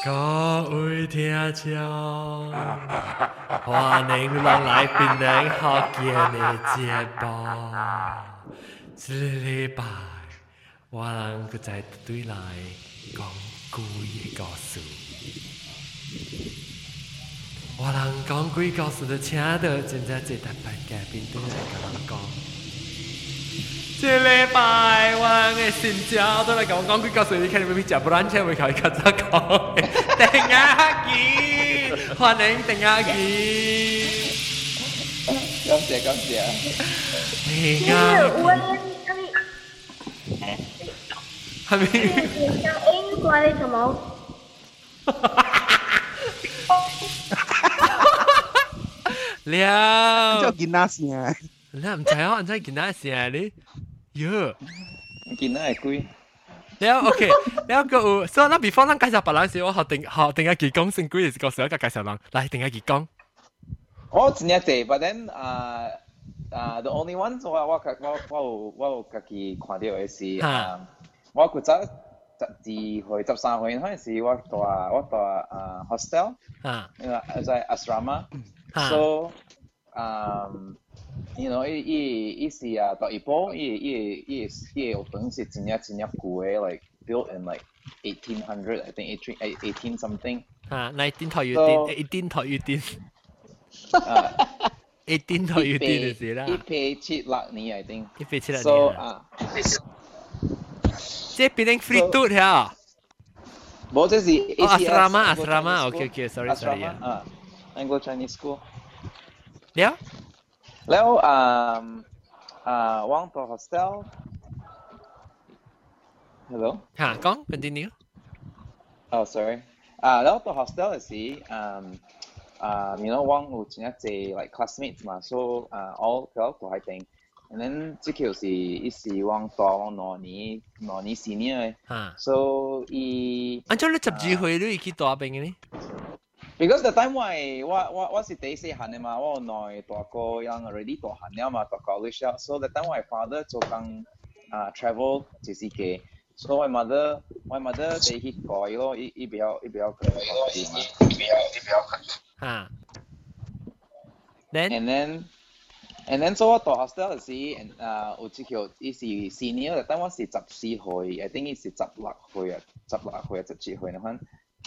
各位聽眾，歡迎落來檳城福建的節目。這禮拜，我人佢在對來講故嘅故事。我人講鬼故事就請到真正一台班嘉賓對來跟人講。這禮拜我嘅新招都嚟講講鬼故事，你看你們去食不爛車會可以跟着講。鄧亞基，歡迎鄧亞基。 感謝感謝。 鄧亞基。係咪？ 你講英國你什麼？ 了。 叫囡仔聲。 你唔知啊？唔知囡仔聲你？喲。 囡仔係鬼。 了 OK，了個有，所以那 before 咱介紹別人時，我學定下佢講先鬼嘅個時候，介紹人來定下佢講。 我真係濟 ，but then the only one 我有家己看到嘅是我嗰陣12歲、13歲嗰陣時，我住hostel，在 asrama，so you know，伊是到一半，伊學堂是真係舊嘅 ，like built in like 1800 ，I think 18 something。 19台要電，18台要電。18台要電就是啦。 176年 I think。 176年。 So 即係變成 free tour 呀？ 冇，這是 asrama，OK，sorry。 Anglo Chinese School。 了。 แล้วว่างตัว hostel hello 講 continue oh sorry แล้วตัว hostel 是you know ว่าง有真係濟 like classmates 嘛 so all 佢都係定 and then 這條是伊是ว่างตัว兩年 senior so 伊按照你12歲你去大邊嘅呢 ？Because the time 我是第四行的嘛，我內大個人 already 大行了嘛，大 college 了 ，so the time 我 father 做工travel 就是嘅 ，so 我 mother 第去改咯，伊比較佢嘛。And then 所以我大 hostel 時，有這條伊是 senior， the time 我是14歲 ，I think 伊是16歲啊，17歲那款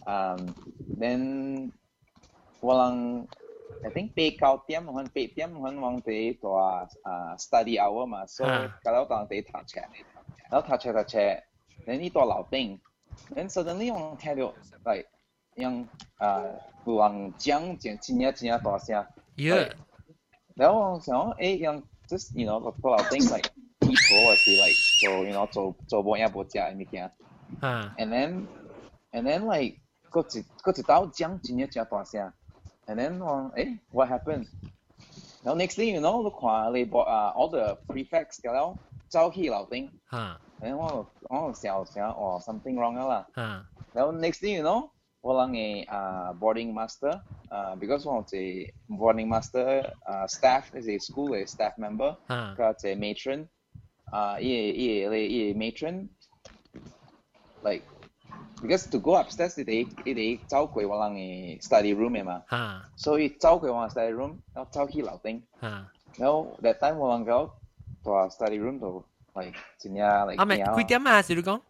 ，then 我人 I think 8點我哋做study hour 嘛，所以搞到當地讀冊，然後讀冊，然後呢度樓頂，然後 suddenly 我聽到 like 樣有人講真大聲，然後我想樣 just you know 個樓頂 like people 或是 like 做 you know 做冇嘢冇食嘅物件，and then like 個一道講真大聲。And then what happened? Now next thing you know, 你看你all the prefects 了走去樓頂，然後我想something wrong 啦。然後 next thing you know， 我人嘅boarding master because 我係 boarding master staff 係 school 嘅 staff member， 佢係 matron， 伊 matron like。Because to go upstairs, 佢走過我人嘅 study room 嘅嘛，所以走過我 study room， 然後走去樓頂，然後 that time 我人到 study room 度 like 真係 like 幾點啊？是你講？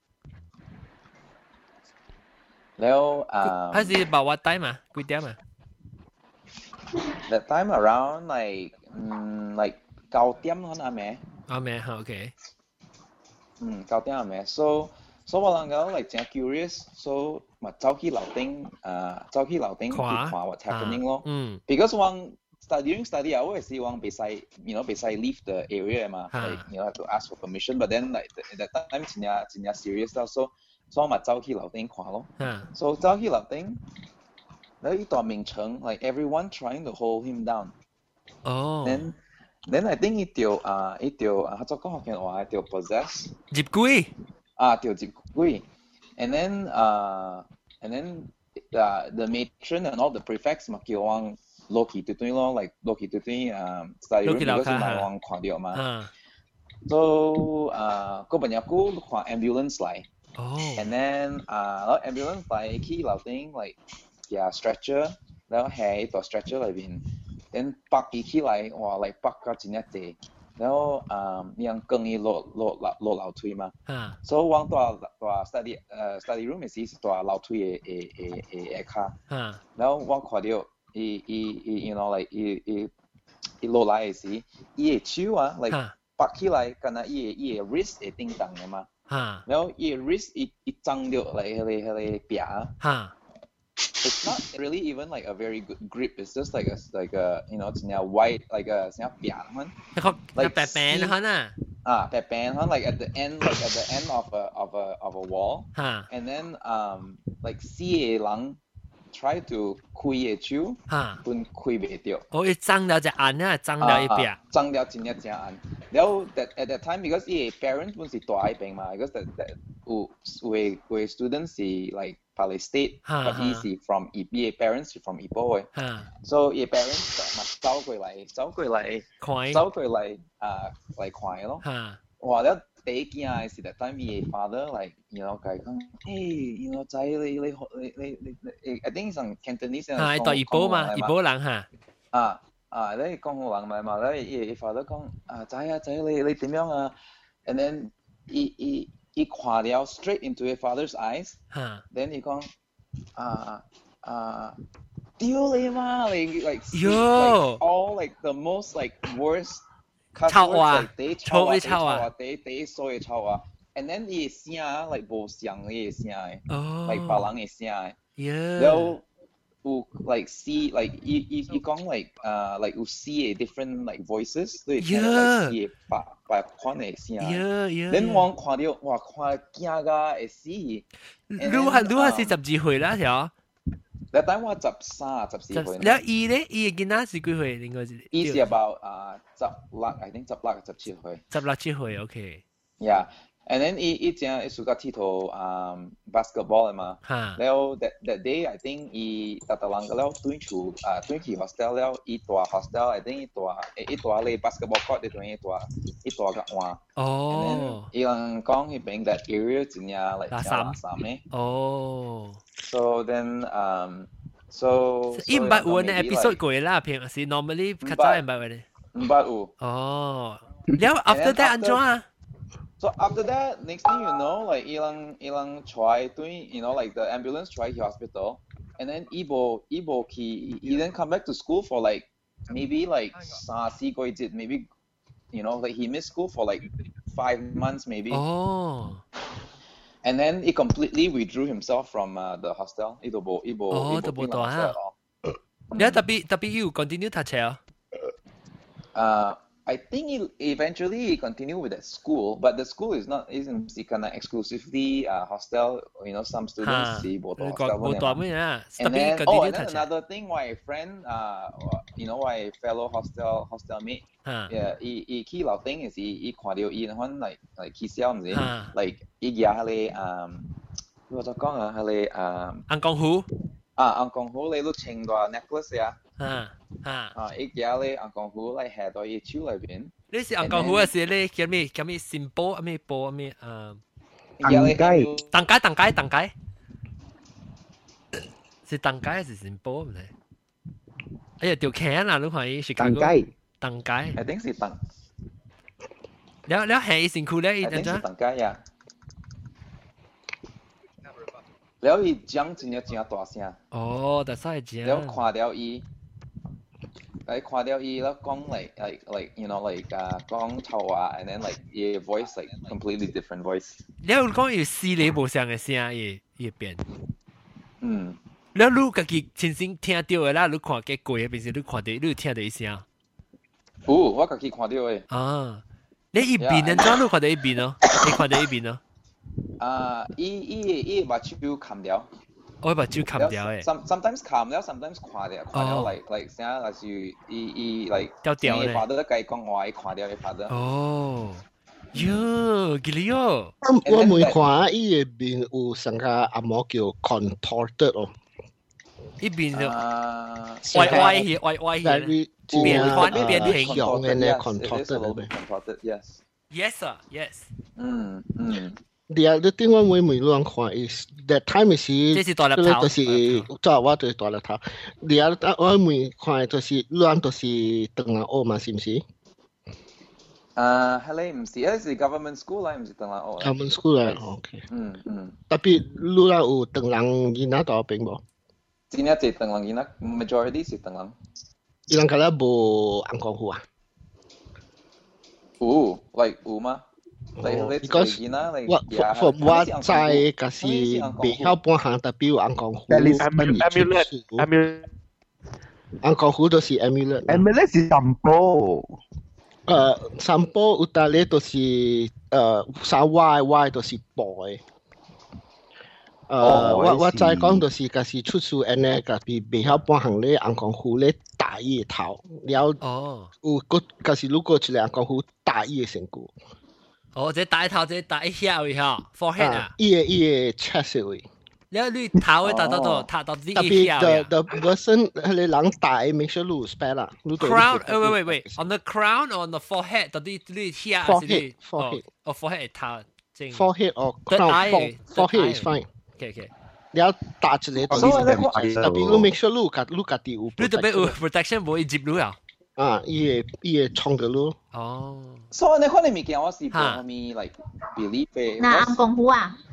然後還是 about what time 啊？幾點啊 ？That time around like 9點可能咩 ？OK。 9點係咩 ？So 我人講 like 真 curious，so 咪走去樓頂去看 what happening 咯。Because 我 during study hour 時我別使 leave the area 嘛，like you know have to ask for permission，but then like at that time 真 serious 啦，so 我咪走去樓頂看咯。So 走去樓頂，然後一段名稱 like everyone trying to hold him down。Then I think 一條合作講學嘅話一條 possess。 接鬼。 條接鬼 and then the matron and all the prefects 嘛叫我落去對咯 like 落去對study room 嗰時咪我看到嘛，so 嗰邊有個看 ambulance 嚟 And then ambulance 嚟 key 樓頂 like stretcher， 然後喺個 stretcher 裏邊， then 北伊起來哇嚟北個真係濟，然後樣更伊落樓梯嘛，所以往大 study room 嘅時是大樓梯嘅下，然後我看到伊 you know like 伊落來嘅時，伊嘅手啊 like 北起來，敢若伊嘅 wrist 會叮當嘅嘛，然後伊嘅 wrist 伊張到嚟迄個壁。It's not really even like a very good grip. It's just like a you know, it's now white like a 像扁man. Like 白板呐。 白板 like at the end of a wall. And then like 四個人 try to 開個手，本開袂到。 哦，伊裝了隻眼啊，裝了一邊。 裝了真係正眼。然後 at that time because 伊個 parents 本是大一邊嘛 ，because that 有 students 是 like Pali State, but he is from parents from Ipoh. So his parents 咪走過嚟看咯。哇！了第一件係 that time his father like you know 講，hey you know 仔你 I think 係 Cantonese 係到Ipoh嘛，Ipoh人嚇。 你講好人咪嘛，你 father 講仔你點樣啊 ？And then he 看了 straight into his father's eyes. Then he 講丟你媽 like all like the most like worst cuss words like 地臭衰臭啊 and then 伊個聲 like 無像伊個聲誒 like 別人個聲誒然後有 like see like 伊講 like 有 see different like voices 所以聽到 like see 別款個聲 then 我看到哇看驚㗎會死你係 12歲啦條 that time 我13、14歲แล้ว伊咧伊嘅囡仔是幾歲應該是伊是 about 16 I think 16、17歲 17歲 OK yeah and then 伊正伊暑假佚佗basketball 嘅嘛然後 that day I think 伊特人個了轉去 hostel 了伊大 hostel I think 伊大咧 basketball court 伊大個換哦伊人講迄邊 that area 真係 like 垃圾嘅哦 So then so 伊唔捌有呢 episode 過啦平時 normally 較早唔捌嘅咧唔捌有哦แล้ว after that 安怎啊 So after that, next thing you know, like ilang try doing, you know, like the ambulance try to hospital, and then Ibo he then come back to school for like maybe like maybe, you know, like he missed school for like 5 months maybe. Oh. And then he completely withdrew himself from the hostel. Ibo. Oh, the hostel. Yeah, tapi you continue to tell. I think he continued with that school, but the school isn't kind of exclusively hostel. You know, some students see both hostel. And then another thing, my friend, you know, my fellow hostel mate, yeah, he key老丁is he 看到伊like 起笑唔知 like 伊家迄個我就講啊，迄個安江湖安江湖你都穿個 necklace 啊。伊家咧安江湖嚟下到伊手裏邊。 你是安江湖還是咧叫咩新波咩波咩當街是當街還是新波唔知？哎呀，條橋啊！你看伊是當街。 I think 是當。 แล้ว係身軀咧，伊點樣？ 當街呀。แล้ว伊講真大聲。 哦，但係講。 แล้ว看到伊。看到伊啦講 like you know like 講臭話 and then like 伊 voice like completely different voice แล้ว講有四個無相嘅聲伊變แล้ว你自己親身聽到嘅啦你看過嘅平時你看到你有聽到伊聲我自己看到嘅你一邊呢怎你看到一邊咯你看到一邊咯伊目睭冚了我把酒砍掉誒 sometimes 砍了 sometimes 看了 like 啥例如伊 like 掉咧發得計講話伊看了伊發得哦喲吉利哦我每看伊嘅面有成個阿毛叫 contorted 哦伊邊就歪變形嘅呢 contorted yes yes sir yes The other thing 我每乱看 is that time 是， 這是大粒頭， 就是做我就是大粒頭。The other 我每看就是亂就是長人學嘛，是唔是係你唔是，嗰是 government school 啦，唔是長人學。 ？government school 啦 ，OK。特別亂有長人囡仔到邊無？ 真係係長人囡仔 ，majority 是長人。 伊人嗰啲無紅光戶啊？ like 有嗎 ？Because 我知嗰是未曉半行，特別有紅光戶。 amulet 紅光戶都是 amulet。 amulet 是什麼？ 散步有搭咧，就是三 Y 都是薄嘅。我再講就是嗰時出處安尼，嗰時未曉半行咧，紅光戶咧打伊個頭，了有個嗰時如果出嚟紅光戶打伊個身軀。 這打頭，這打遐位嗬 ，forehead 啊， 伊個 chest 位。 แล้ว你頭會打到啲特別 the person 係你人打 make sure 你有 spell 啦。 crown wait on the crown or on the forehead 到啲你遐係 forehead forehead 頭正 forehead or crown forehead is fine。 OK 你要打出嚟，特別你 make sure 你家己有。 你特別有 protection 冇接路啊？ 伊個衝嘅路。 所以你看你物件我是講咪 like believe 嘅。 那紅光戶啊？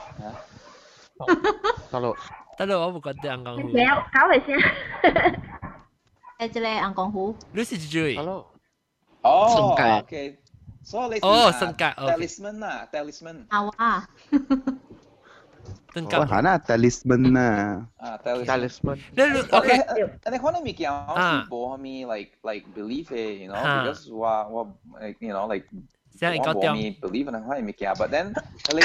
得咯， 我冇覺得紅光戶。搞嚟先。誒，這個紅光戶。 你是幾句？ 哦 ，OK。所以你身格 talisman 啊 ，talisman。 哇！ 我行啦 talisman 啊。 talisman。 你 OK？ 你看你物件我是冇咪 like believe 嘅 ，you know，because 我 you know like 我冇咪 believe 你看你物件 ，but then 你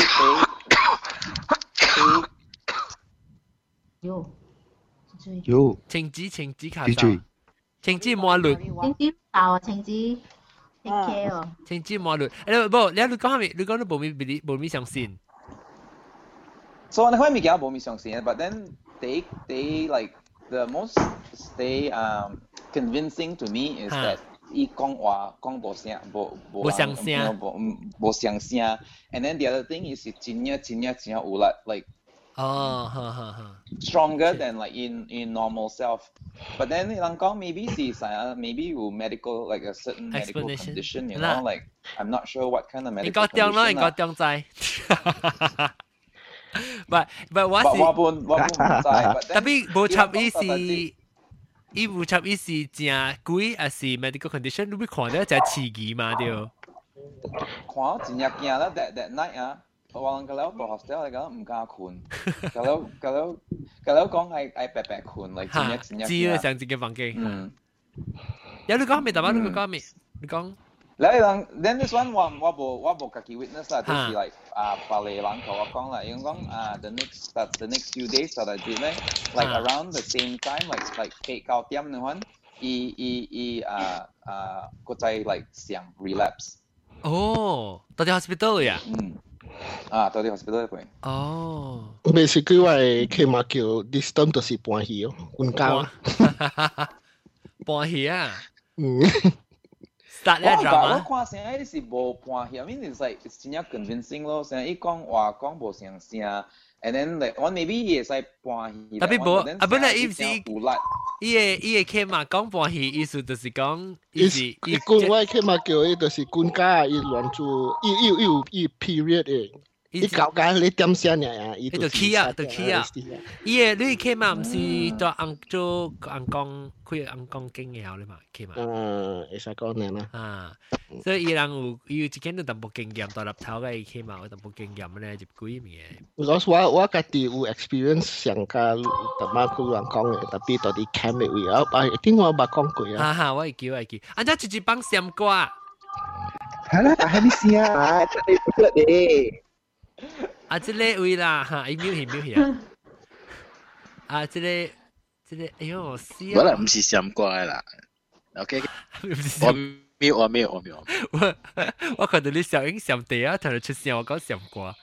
有青子卡啥？青子麻律。 青子爆啊！青子 ，OK 哦。 青子麻律，不，你講下面，你講你冇咪相信。 所以你可以講冇咪相信 ，but then they like the most convincing to me is that 伊講話講無聲，無相聲 ，and then the other thing is 真有力 like。stronger than like in normal self. But then 人講 maybe 是啥 maybe 有 medical like a certain medical condition, you know, like I'm not sure what kind of medical condition. 應該中在。But 我本唔知。 特別無插伊無插伊是正貴，還是 medical condition？你會看到就刺激嘛？對。 看真係驚啦 that night 啊！我人個了到 hostel 嚟講唔敢困，個了講係白白困，嚟真係。 知啦，上自己房間。有你講未？大把你講未？你講。 then this one 我冇家己 witness 啦，就是 like 白嚟人同我講啦，因為講the next few days 就係點咧 ，like around the same time like 8-9點嘅話，伊個仔 like 想 relapse。 哦，到啲 hospital 呀？ 到啲 hospital 入去。 basically 我係起碼叫 this time 就是搬去哦，搬家啊。 搬去啊 ？Start 咧 drama。我看成係是無搬去 ，I mean it's like it's 真係 convincing 咯。成伊講話講無相聲 ，and then like 我 maybe 伊會使搬去。 特別無，本來伊唔是伊個起碼講搬去，意思就是講伊官我起碼叫伊就是官家，伊亂做，伊 period 嘅。伊搞緊你點先呀？伊就起啊！伊個你起碼唔是做做紅光開紅光經嘅後咧嘛，起碼。 會使講呢啦。所以伊人有一間都淡薄經驗，大粒頭嘅起碼有淡薄經驗咧，就幾嘢。 我家己有 experience 上加特別佢亂講嘅，特別到啲 camp 嘅位啊，聽我捌講過啊。 我會叫。安怎直幫閃歌？ 係啦，係咪先啊？你不得嘅。 這個位啦，伊瞄戲這個，哎呦，我死啊！ 我啦唔是閃怪啦 ，OK， 我沒有。 我看到你小英閃地啊，同你出聲，我講閃怪。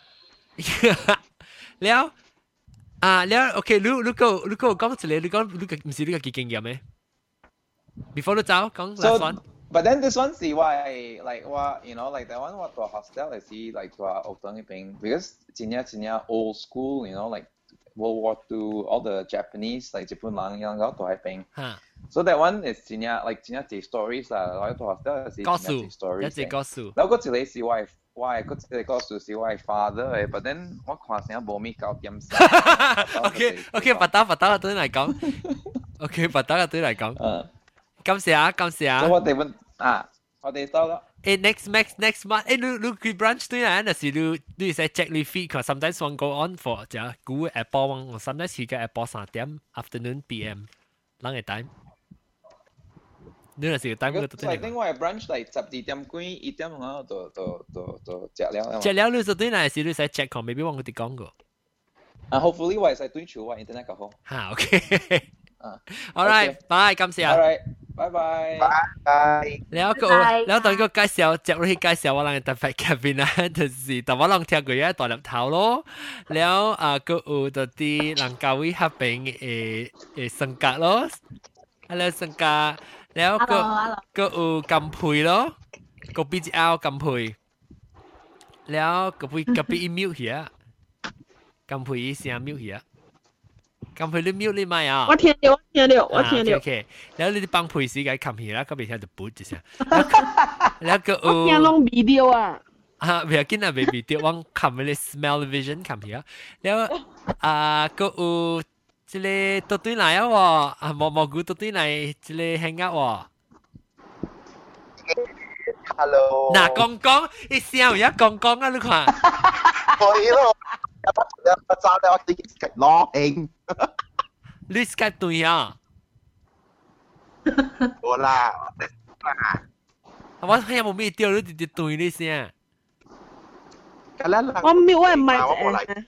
了，OK，你講一個，你講唔是你個經驗咩？Before 你走，講 last one。 But then this one see why like what you know like that one what to hostel is see like to Outang thing because Jinya old school you know like World War II all the Japanese like Japan lang yang to hai ping. So that one is Jinya stories lah. Like to hostel is Jinya stories. 一隻故事。 แล้วก็只係是why個只個數是 why father but then 我看成冇咩搞點事。 OK，白打對嚟講。OK，白打對嚟講。感謝。 我哋問我哋到啦。 next month，你去 brunch 對啦，但是你使 check 你 feed，佢 sometimes one go on for 就估 Apple 我 sometimes 去個 Apple 3點 afternoon PM， 啷個 time？ 你那時 time 個都對。 另外 brunch 嚟12點幾1點我就食了。 食了你就對啦，是你使 check 佢 maybe 我哋講過。 hopefully 我使對住我 internet 個好。 嚇 OK。Alright， bye， 感謝。 Alright， 拜拜。 แล้วตอนก็介紹接落去介紹我哋特別嘉賓啦，就是但我諗聽過嘢大粒頭咯，แล้วก็有啲人教會合併性格咯，แล้ว性格แล้วก็有金培咯，個 BGL 金培，แล้ว個別อีมิวเหีย金培อี聲มิวเหีย咁佢啲 mute 你咪啊？ 我聽到。 OK， แล้ว你幫配時嘅冚起啦，咁邊聽就補一下。แล้วก็我聽攏 video 啊。 唔要緊啊 ，baby， 啲我冚嗰啲 smell vision 冚起啊。แล้วก็即係到對嚟啊，蘑菇到對嚟即係 hang out 喎。 Hello。 嗱，講，你笑而家講啊，你看。 係咯。我找到我自己攞應。 你 Skype 對啊？ 好啦， 我睇有冇咩掉你哋對你先。 我唔係麥。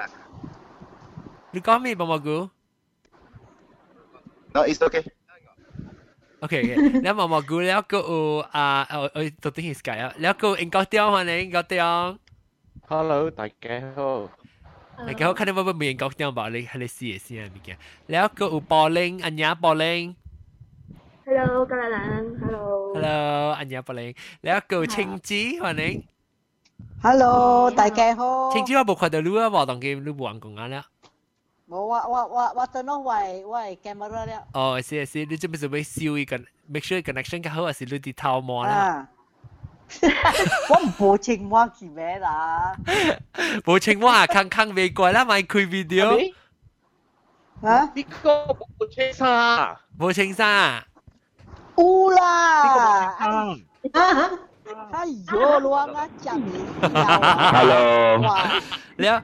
你講咩蘑菇 ？No, it's okay. OK， แล้ว蘑菇แล้วก็ตัวที่ Skype 啊แล้วก็應該掉歡迎應該掉。 Hello， 大家好。 大家好，看到我面講點吧？你試下物件。แล้วก็有柏林，อัญญา柏林。 Hello， 各位人 ，Hello， อัญญา柏林。แล้วก็青子，歡迎。 Hello， 大家好。 青子我冇看到你啊，話當佢你冇人講啊啦。 冇，我等到我 camera 了。 哦，是，你準備燒一個 ，make sure connection 較好，還是你啲頭毛啦？ 我唔報青蛙去咩啦？ 報青蛙坑未過啦，咪開 video。 啊？ 呢個報青沙。 報青沙。 有啦。哎呦，亂啊講你。 Hello。 แล้ว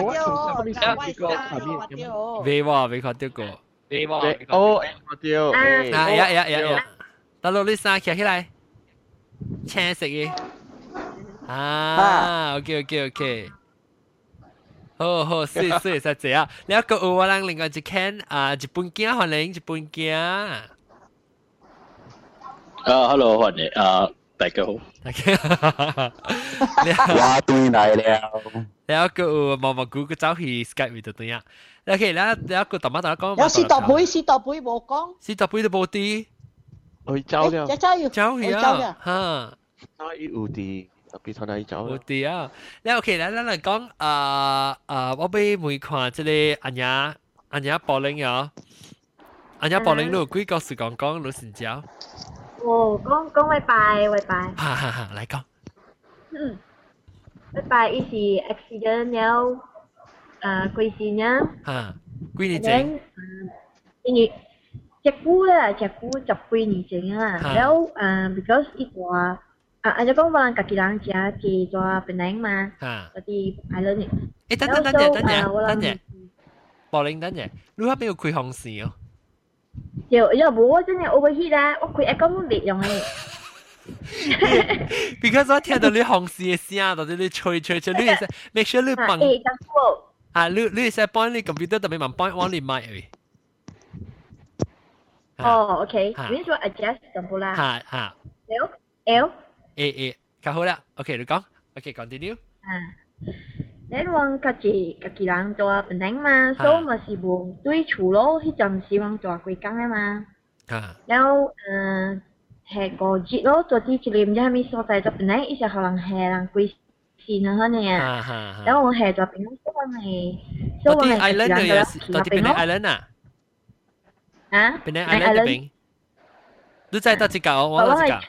未看到過。 哦，我掉。 呀，到落你衫企起來。青色嘅，OK， 好，所以實這啊，แล้วก็我哋另外一間日本鏡歡迎日本鏡。 Hello， 歡迎大家好。 我對嚟了。 แล้วก็蘑菇個走去 Skype 度對啊。OK，แล้วก็ต่อมา講。 有士多杯冇講。 士多杯都冇啲。 去走了， 走去啊，嚇！ 有啲特別同你走。 有啲啊，你 OK 啦，咱嚟講我俾每看即係安雅柏林啊，安雅柏林都有幾個時講老實講。 哦，講拜拜。 哈，嚟講。 拜拜，伊是 accident 了，幾時呢？ 嚇，幾年前？ 因為。隻菇10幾年前啊，แล้วbecause อีกว่าอาจจะ講話自己人食係做檳榔嘛，嗰啲 island 嘅。 等陣，柏林等陣，你嗰邊有開紅線哦？ 有冇真係 overheat 啦，我開 aircon 都未用嘅。 Because 我聽到你紅線嘅聲，或者你吹，你係 make sure 你幫你係幫你 computer 特別問幫我你麥嘅。 哦 ，OK， 你說 adjust 咁好啦。 嚇。 L。 較好啦。OK， 你講。OK，continue。 你講自己人做檳榔嘛，所以咪是無對厝咯，迄陣時往做幾工啊嘛。แล้ว係個節咯，做啲一年唔知係咪所在咗本來一直可能係人貴線啊，可能啊，然後我係咗邊，所以我係 island 嘅嘢，到底邊個 island 啊？ 啊？ 邊個 island 嘅邊？你在到幾個？我到幾個？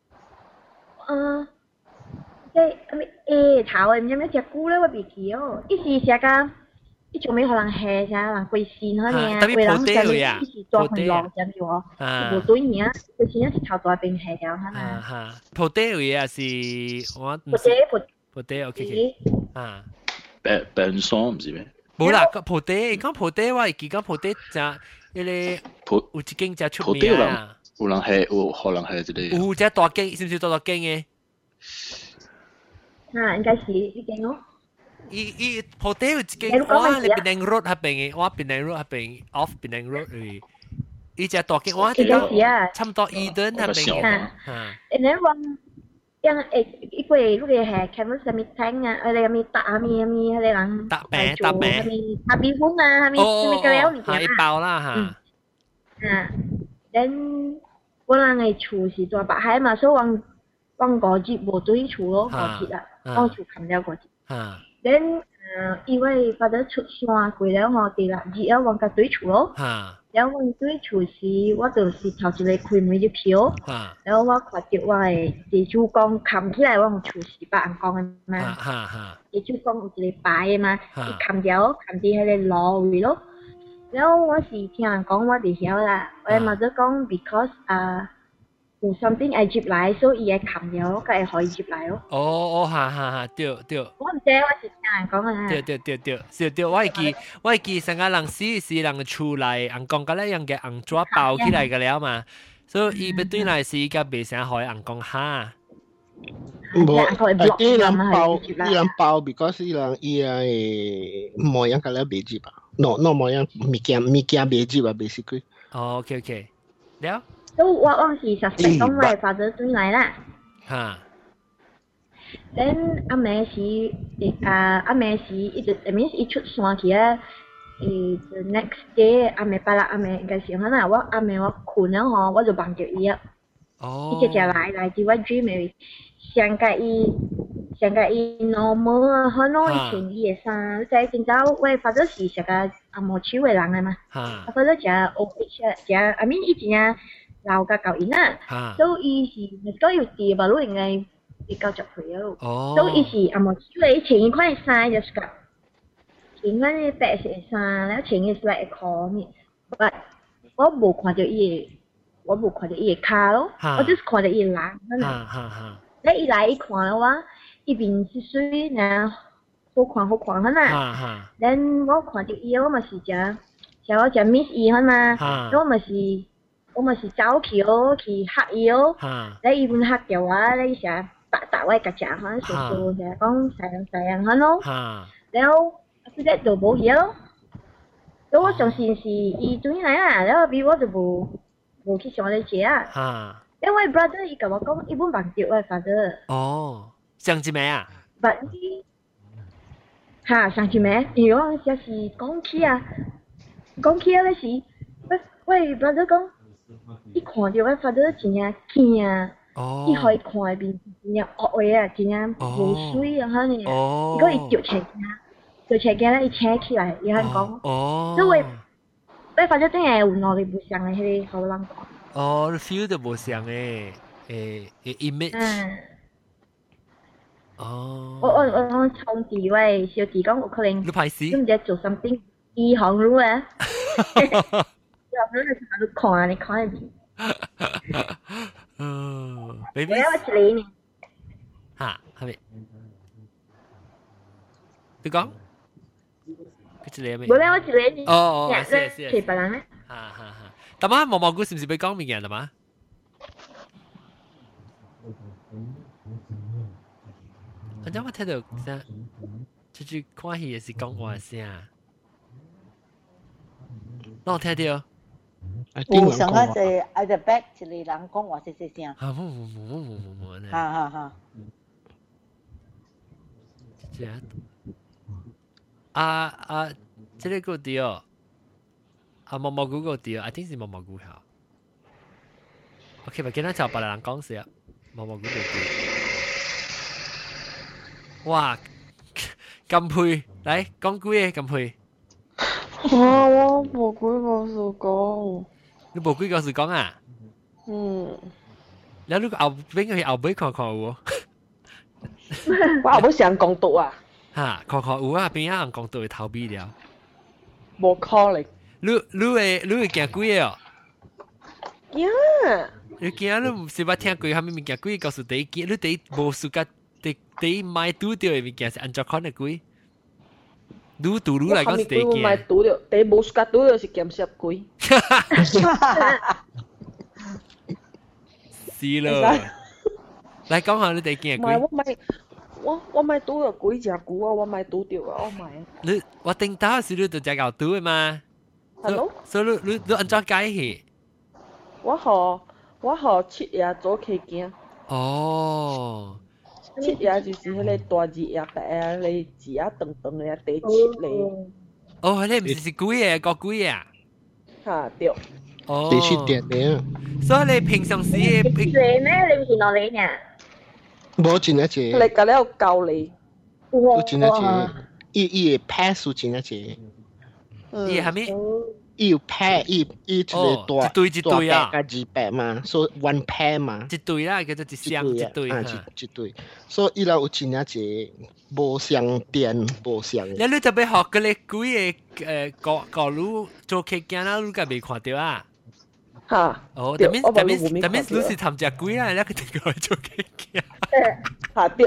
即係頭唔知咩隻菇咧，我別記哦，一時成個。一種咩可能係啥人貴線可能啊，貴人上面一時做很long咁樣哦，無對面啊，貴線一時頭大邊係了可能。 哈，鋪地位啊是我鋪地 OK 啊， 病霜唔是咩？ 冇啦，鋪地講鋪地我記講鋪地就一個有一間就出名啊， 有人係有可能係一個， 有隻大間，是唔是大間嘅？ 啊，應該是呢間咯。 伊鋪地有一間，我你檳城 road 嗰邊嘅，我檳城 road 嗰邊 off 檳城 road 嘅，伊隻大間，我記得差唔多2噸嗰邊嘅。 然後yang ibu lu dia canvas kami tang ada kami tak kami ada orang tak kami habis bunga kami keleo ni ha bao lah ha then 我人嘅厝是在北海嘛，所以往個節無對厝咯，個節啦，往厝冚了個節。then 因為發咗出山過了我哋啦，日啊往個對厝咯。然後往對厝時，我就是頭一個開門就票，然後我看到我嘅地主公冚起來，我厝是白人講嘅嘛。地主公有一個牌嘅嘛，伊冚掉冚啲喺個路位咯。然後我是聽人講，我哋曉啦。我咪就講 because 有 something 會接來，所以伊會冚掉，佢會可以接來咯。 哦，哈，對。 我唔知，我是聽人講嘅。 對，我會記成個人死是人厝內，人講嗰咧樣嘅人紙包起來嘅了嘛，所以伊要對來是伊個袂想可以人講哈。 冇，伊人包 because 伊係冇樣個咧袂接啊。no 冇樣物件袂接啊 basically。 哦 ，OK， 了。 都我是實實講我發咗轉來啦。then 阿妹時一直 I mean 一出山去啊，the next day 阿妹巴拉阿妹應該是可能我阿妹我困了吼，我就望着伊啊。伊直直來至我 dream 嘅，上個伊 normal 啊，可能以前伊嘅衫，即係見到我發咗是成個阿毛手嘅人嚟嘛。啊，發咗只 OH 只 I mean 以前啊。老個舊年啊，所以伊是都要跌吧，都應該會夠十歲咯。所以伊是冇因為前一款衫就是個，前款嘅白色衫，然後前嘅是來褲面，但我冇看到伊嘅卡咯，我就是看到伊人。你一來一看嘅話，伊面是水，然後好看啦。然後我看到伊，我咪是只我只 miss 伊嘛，我咪是走去咯，去黑伊咯。你一般黑嘅話，你成白位夾夾，可能成日講細人咯。然後佢哋就冇嘢咯。咁我上線是伊轉嚟啊，然後比我就冇去上你姐啊。因為 brother 伊甲我講，伊本忘掉我 father。 哦，上次咩啊？ 白伊上次咩？如果有時講起啊，嗰時，喂 brother 講。伊看到我發咗真正驚啊！伊可以看入邊真正惡嘅啊，真正無水啊，可能。如果伊掉車咧，伊扯起來，伊肯講。所以我發咗真係有能力唔像嘅迄個好人講。 你 feel 到唔像嘅image。 我從地位小弟講有可能。 你排死？ 唔知做 something 醫行路啊。你看入邊。 baby。 我一年。 係咪？你講？佢一年未？ 冇咧，我一年。 是。 其別人咧。 但係毛毛菇是唔是俾講明嘅嘛？我今日睇到啫，出去看戲也是講話聲。我聽到。 有上一隻喺隻 back 一個人講話細細聲。 冇。 哈。 這個對毛毛菇個對，I think 是毛毛菇嚇。我 OK， 咪見到就別人講事啊，冇估到佢。哇，咁配，嚟講句嘢咁配。 我冇鬼故事講。 你冇鬼故事講啊？แล้วลูกเอาเป็นไงเอาไปขอวัวว่าเอาไป上港獨啊ฮะขอวัวเป็นยัง港獨逃避了冇可能你會驚鬼哦驚你驚你唔是捌聽過下面物件鬼告訴你驚你第無事甲第買拄到嘅物件是安怎款嘅鬼愈拄愈來講是第驚買拄到第無事甲拄到是鹹濕鬼是咯，嚟講下你哋見鬼。 我買賭咗鬼隻股啊，我買賭掉啊，我買。 我頂到是你就只搞賭嘅嘛。 Hello。 所以你安怎解去？ 我七夜做期間。 哦。 七夜就是迄個大字夜白啊，你字啊長長嘅第七嚟。 哦，你唔是鬼嘅，個鬼啊？ 嚇對。 哦， 你去點嘅， 所以你平常時你咩？你唔見我你呢？ 冇真一隻， 你隔了教你， 有真一隻，伊個 pass 有真一隻， 伊係咩？ 伊有 pair，伊一個大一對啊， 加200嘛，所以 one pair 嘛， 一對啦，叫做一雙一對啊，一對，所以伊拉有真一隻，無相電，無相。 你特別學嗰啲鬼嘅教路做客家啦，你家未看到啊？ 嚇！ 哦，that means 你是參加鬼啦，你個定過嚟做客家。 嚇對。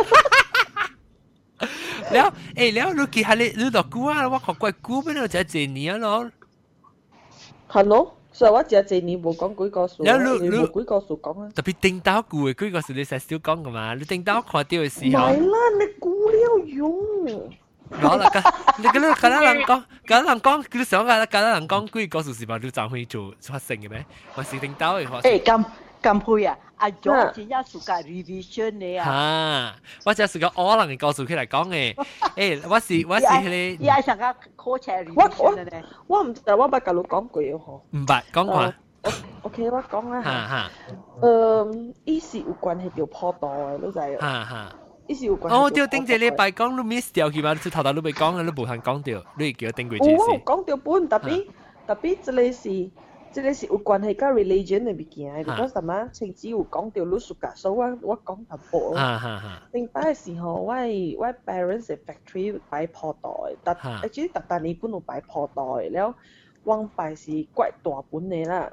แล้ว你記下你落股啊？我學過股邊度就係年咯。 係咯，所以我只係年冇講鬼故事。你冇鬼故事講啊？ 特別頂到股嘅鬼故事你成日少講噶嘛？你頂到看到嘅時候。 唔係啦，你估了用。 攞啦，你嗰人講，佢想啊，嗰人講鬼故事是嘛？你就會做發生嘅咩？還是頂到嘅發生？ 咁配啊！阿 John 只一暑假 revision 你啊！ 嚇，我只係個可能嘅故事佢嚟講嘅。誒，我是你。 而家成個 coach revision 咧。 我唔知，我捌甲你講過嗬。 唔捌講過。 OK，我講啦嚇。 伊是有關係條破道嘅，你知啊？ 嚇。 伊是有關。 哦，對，頂一禮拜講你 miss 掉去嘛？你頭你未講，你無限講掉，你叫我頂過一次。 我講掉本，特別這個是有關係甲 religion 嘅物件，because 什麼情節有講到你暑假，所以我講淡薄。頂擺嘅時候，我 parents 嘅 factory 擺破袋，actually 特年本有擺破袋，แล้ว往擺是怪大本嘅啦。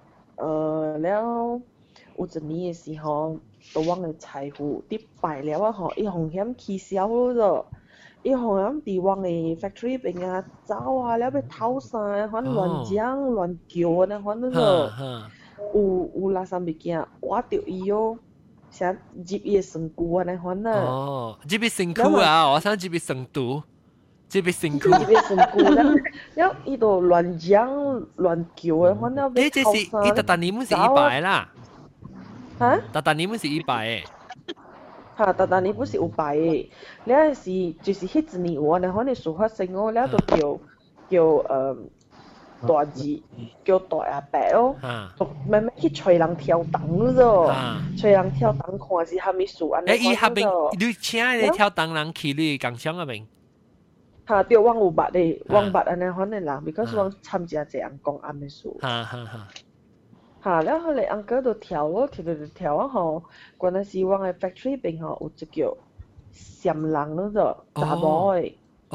แล้ว有一年嘅時候，到往嘅財富跌敗了啊！嗬，伊風險起小咗。伊好像伫往嘅 factory 邊啊走啊，了要偷曬，反正亂講亂叫啊，反正有垃圾物件，挖掉伊哦，想接伊嘅身軀啊，反正。 哦，接伊身軀啊，我想接伊身肚，接伊身軀。 接伊身軀，了伊度亂講亂叫啊，反正要偷曬。 這是伊特年唔是100啦。 嚇？ 特年唔是100誒。 嚇，但你不是有擺嘅，你係是就是迄一年我呢，可能事發生哦，了就叫大字叫大阿伯哦，慢慢去找人跳檔咯，找人跳檔看是蝦米事安尼。 伊下邊你請你跳檔人去你工廠嗰邊？ 嚇，對，我有捌咧，我捌安尼反正啦，because 我參加一人講安尼事。嚇，แล้ว後來 uncle 就跳咯，跳啊吼，嗰陣時我嘅 factory 邊吼有一叫閃人咯就查某嘅，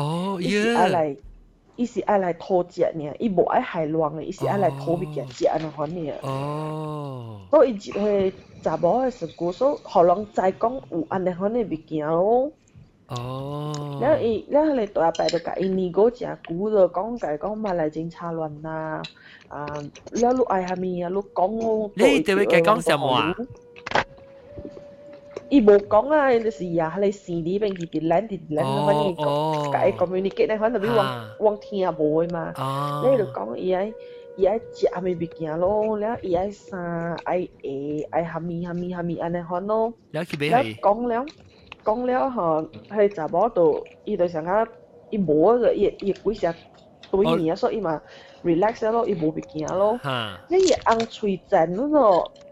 伊是愛來偷食呢，伊無愛害人嘅，伊是愛來偷物件食安尼款呢。所以伊一回查某嘅事故，所以互人知講有安尼款嘅物件咯。แล้ว後來大伯就甲伊年過誠久就講甲伊講馬來警察亂啦。แล้วลูกไอ้ฮามีอ่ะลูกก้อง你對佢講什麼啊？ 伊無講啊，就是呀，你視裡邊佢哋反正講，甲伊 communicate 咧，反正你往聽無嘅嘛。你就講伊愛食咩物件咯，แล้ว伊愛啥愛哈咪安尼款咯。 แล้ว講了吼，係查某度，伊就想講伊無個伊幾時對面啊，所以嘛。relax 咯，伊無物件咯。你伊紅喙賤咯，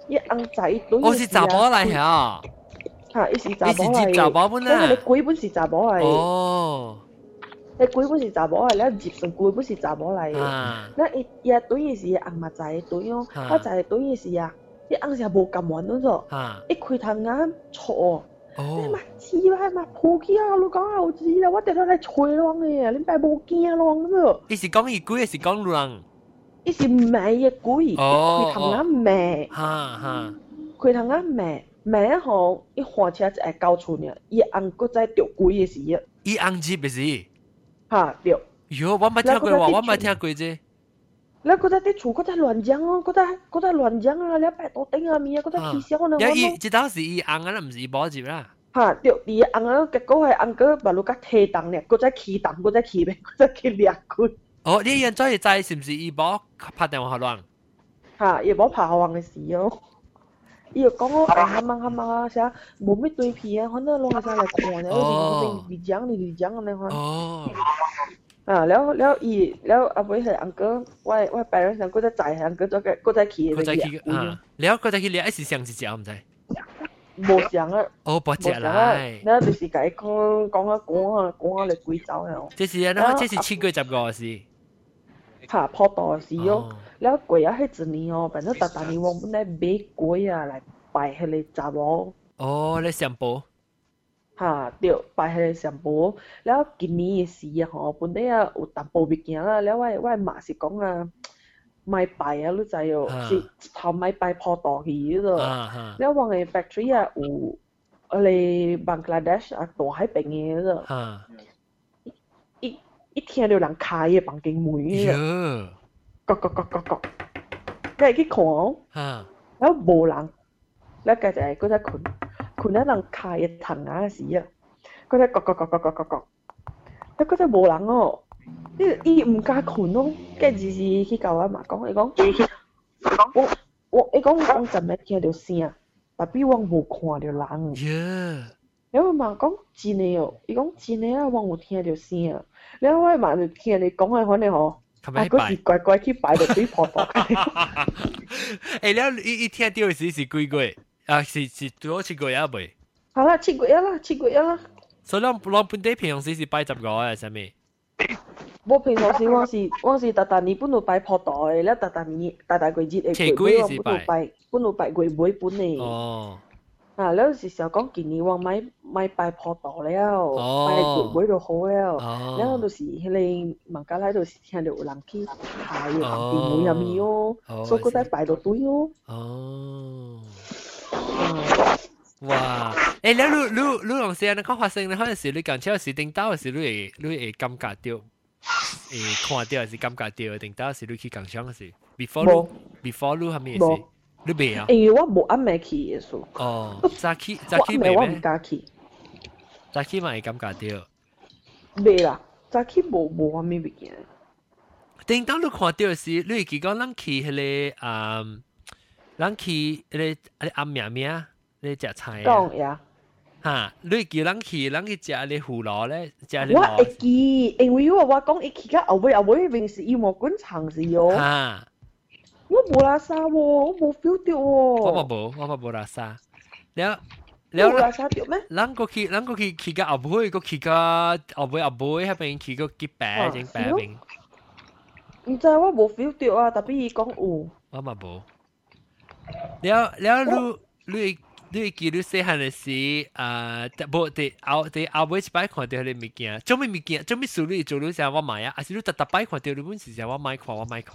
伊翁仔伊對。 我是查某嚟嚇。 嚇，伊是查某嚟。 伊是接查某本啊。 你鬼本是查某嚟。 哦。 你鬼本是查某嚟，你接上鬼本是查某嚟。那伊對伊是翁嘛仔對哦，我仔對伊是啊，伊翁是無咁玩嗰種。伊開頭啱錯。你嘛知啦，嘛抱起啊！你講後知啦，我哋都嚟吹浪嘅，你咪冇驚浪咁。 伊是講伊鬼，還是講人？ 伊是罵嘅鬼，開頭啱罵。開頭啱罵一項，伊換車就係交出呢，伊翁嗰仔掉鬼嘅事啊。 伊翁接嘅事。 嚇掉。 喲，我冇聽過話，我冇聽過啫。 你嗰仔啲厝嗰仔亂講哦，嗰仔亂講啊！你擺到頂下面啊，嗰仔氣消呢？ 伊即當時伊翁啊，唔是伊寶接啦。 嚇，對，伊翁啊，結果係翁哥把路甲提檔咧，嗰仔起檔，嗰仔起咩？嗰仔起掠佢。 哦，你現在知是唔是伊寶拍電話給人？ 嚇，伊寶拍給人嘅事哦。伊又講我啱啊，寫冇咩對片啊，可能攞下嚟看咧，好似你講咁樣。 哦。 แล้ว阿妹係翁哥，我白人想嗰隻仔係翁哥咗嘅，嗰隻企嘅。 แล้ว嗰隻企咧，係上一隻唔知。 冇上啊。 哦，冇隻啦。 แล้ว就是解講啊嚟鬼走啊。 這是啊，這是7月10個事。 嚇，破袋事哦。แล้ว鬼啊係一年哦，反正大年王本來買鬼啊嚟拜佢哋查某。 哦，你上報。 嚇，對，拜迄個上報，แล้ว今年嘅事啊，吼，本來啊有淡薄物件啦，แล้ว我媽是講啊，買拜啊，你知哦，是頭買拜破袋去嗰度，แล้ว我嘅 factory 啊有嚟 Bangladesh 啊大海邊嘅嗰度，一聽到人開嘅房間門嘅，角，你去看哦，แล้ว無人，แล้ว佢就係嗰隻群。佢咧人開嘅藤牙時啊，嗰隻角，一嗰隻無人哦，伊唔加群咯，跟住是去教阿媽講，伊講我真係聽到聲，但比我冇看到人。然後阿媽講真嘅哦，伊講真嘅啊，我冇聽到聲。然後我阿媽就聽你講嘅可能嗬，啊嗰時乖去擺到對婆婆。 誒，然後伊聽到時是幾個？啊，是多7個月未？ 好啦，7個月啦。 所以我本地平常時是擺10個啊，係咪？ 我平常時我是大年本來擺破袋，แล้ว大個節嘅鬼我本來擺鬼尾本嚟。 哦。 啊，แล้ว是時候講今年我買擺破袋了，擺鬼尾就好了。แล้ว就是迄個孟加拉就是聽到有人去排嘅電話入面哦，所以嗰啲擺到堆哦。 哦。哇！誒，你用時你講發生，你可能是你講超時定到時，你會感覺到，看到還是感覺到定到時你去講槍時 ，before 你係咩事？你未啊？ 因為我冇啱未去嘅數。 哦，早起未我唔敢去。 早起咪感覺到。 未啦，早起冇啱咩物件。 定到你看到時，你會記講咱去迄個咱去迄個暗命。你食菜啊？ 講呀。 嚇！你叫人去食你胡蘿咧，食你我會記，因為我講一去到後尾平時要莫滾長時哦。 嚇！ 我冇拉沙喎，我冇 feel 到喎。 我冇拉沙。了， 冇拉沙掉咩？ 咱過去到後尾，過去到後尾嗰邊去個幾白整白邊。 唔知我冇 feel 到啊，特別伊講有。 我嘛冇。了，你記得細漢嘅時，無第後尾一擺看到迄個物件，做咩事你做你成我買啊？還是你特擺看到你本時成我買看。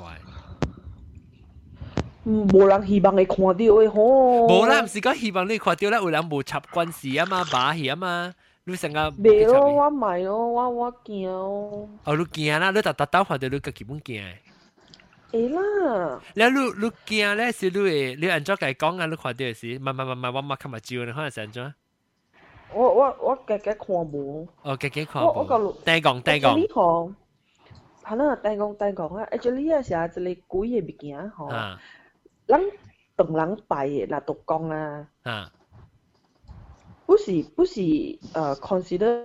無人希望你看到嘅吼。 無啦，唔是講希望你看到啦，有人無插關係啊嘛，把戲啊嘛，你成個。 袂咯，我買咯，我驚哦。 哦，你驚啦，你特看到你個基本驚嘅。 會啦。 แล้วลูกเกียร์咧สิลูกอันจ้าไก่ก้องอ่ะลูกขวาเดียวสิมาว่ามาขมาจิวนะเขาจะอันจ้า我家看無。 哦，家看無。單講。 你講，係啦，單講啊！actually 啊，是啊，一個鬼嘅物件吼，咱當人拜嘅嗱獨講啊。不是consider。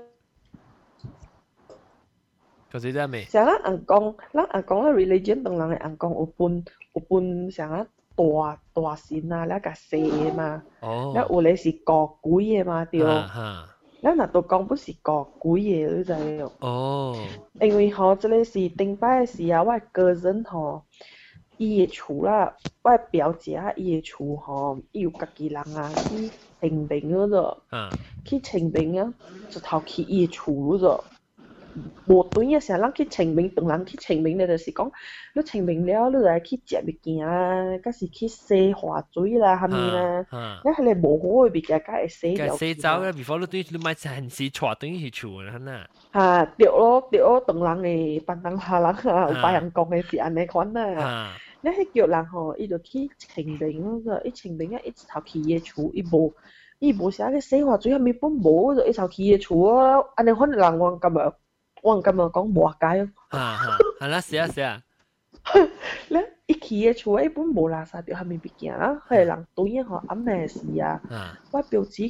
consider 咩？ 像咱講，religion 當然係講有分像啊大線啊，了個細嘅嘛，了有咧是個貴嘅嘛，對。แล้วน่ะตัวกอง不是個貴嘅，你知唔？因為吼，這裡是頂擺時啊，我個人吼，伊嘅厝啦，我表姐啊，伊嘅厝吼，伊有家己人啊去清明嗰度，去清明啊，就頭去伊嘅厝嗰度。無對嘅時候，咱去清明，當人去清明咧，就是講，你清明了，你來去食物件啊，甲是去洗花水啦，係咪啦？你係你無好嘅物件，甲會洗掉。 洗走啦 ，before 你對你買陣時帶對去厝啦，呐。 嚇，對咯，當人嘅辦人下人啊，有白人講嘅是安尼款啦。你係叫人吼，伊就去清明嗰個，伊清明啊，一頭去嘅厝，伊無寫嘅洗花水，係咪本無就一頭去嘅厝啊？安尼款人我咁樣。我咁樣講冇解咯。 係啦，是啊。 咧，一去嘅厝一般冇垃圾掉下面物件啦，係人對嘅嗬，暗暝時啊，我表姐。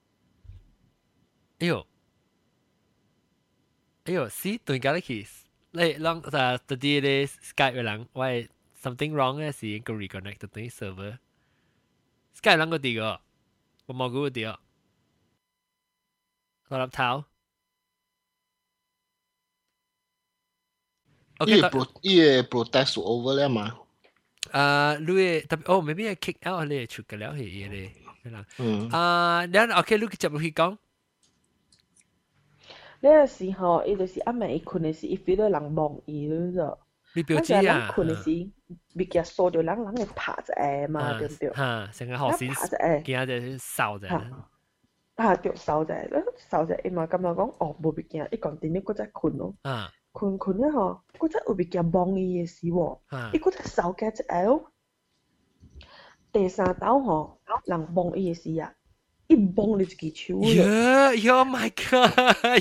哎呦，是對家咧去，你啷特啲咧 Skype 嘅人，喂 something wrong 嘅是個 reconnect 對 server。Skype 啷個啲個，我冇嗰個啲哦，我入頭。 伊個 protest over 了嘛？ 你特別maybe I kick out 你出嘅了係咧，然後 OK， 你接落去講。 呢個時候，伊就是暗暝伊困嘅時，伊 feel 到人望伊咯。 你表姐啊？ 人困嘅時，物件掃到人會拍一下嘛，對唔對？ 成個學先見下就掃啫。 對，掃啫，伊嘛咁樣講，冇物件，伊講點樣嗰隻困咯。困咧嗬，嗰隻有物件望伊嘅事喎，伊嗰隻手嘅隻手，第三刀嗬，人望伊嘅事啊，一望你自己手咗。Yeah, my God！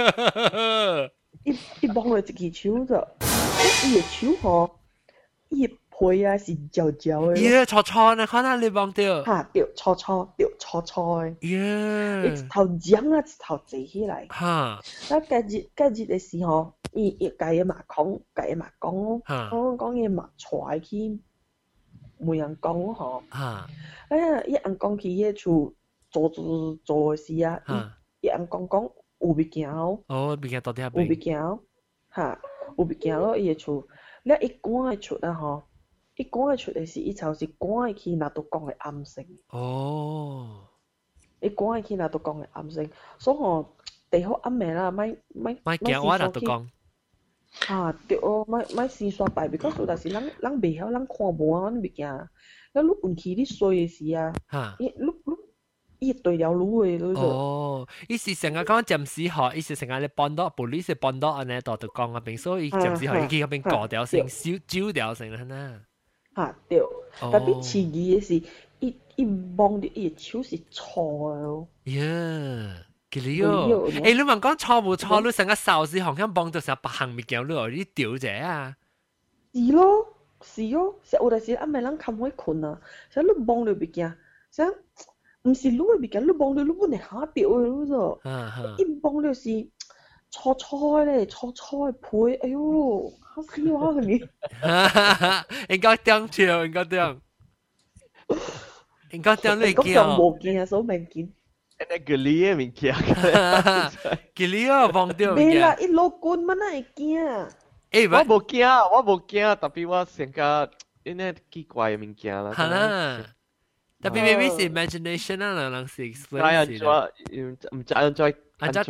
一望你自己手咗，伊嘅手嗬，伊嘅皮啊是焦焦嘅。 錯呢，看下你望到。 對，錯嘅。一頭漿啊，一頭坐起來。那隔日嘅時候。伊家嘅嘛講，講嘢嘛出去，冇人講嗬。伊人講佢嘅厝做嘅事啊，伊人講有物件哦。 物件到底係有物件哦，有物件咯，伊嘅厝，你一關嘅厝啊嗬，一關嘅厝嘅時，伊就是關去那度講嘅暗聲。一關去那度講嘅暗聲，所以嗬，第好暗暝啦，咪驚我那度講。 對哦，咪試刷牌 ，because 有陣時人袂曉，人看無啊，物件，你運氣你衰嘅時啊，伊對了路嘅咯。 伊是成日講暫時學，伊是成日咧幫到 police 幫到安尼度講啊，並所以暫時學伊去嗰邊過掉先，燒掉先啦。 對，特別刺激嘅是，伊望到伊嘅手是錯嘅咯。 你問講錯冇錯，你成個掃時好像幫到成白行物件，你屌者啊？ 是咯，有陣時暗暝人冚開困啊，成你望到物件，成唔是你嘅物件，你望到你本嚟下掉嘅咯啫。一望到是錯咧，錯配，哎呦，嚇死我你！ 應該點跳，應該點你見啊？冇見啊，所以未見。 那個你嘅物件， 佢你啊忘掉物件。 未啦，一落棍乜會驚？ 我冇驚，特別我成個因為奇怪嘅物件啦。 係啦，特別 maybe 是 imagination 啊，人是 explain 是啦。 唔知按再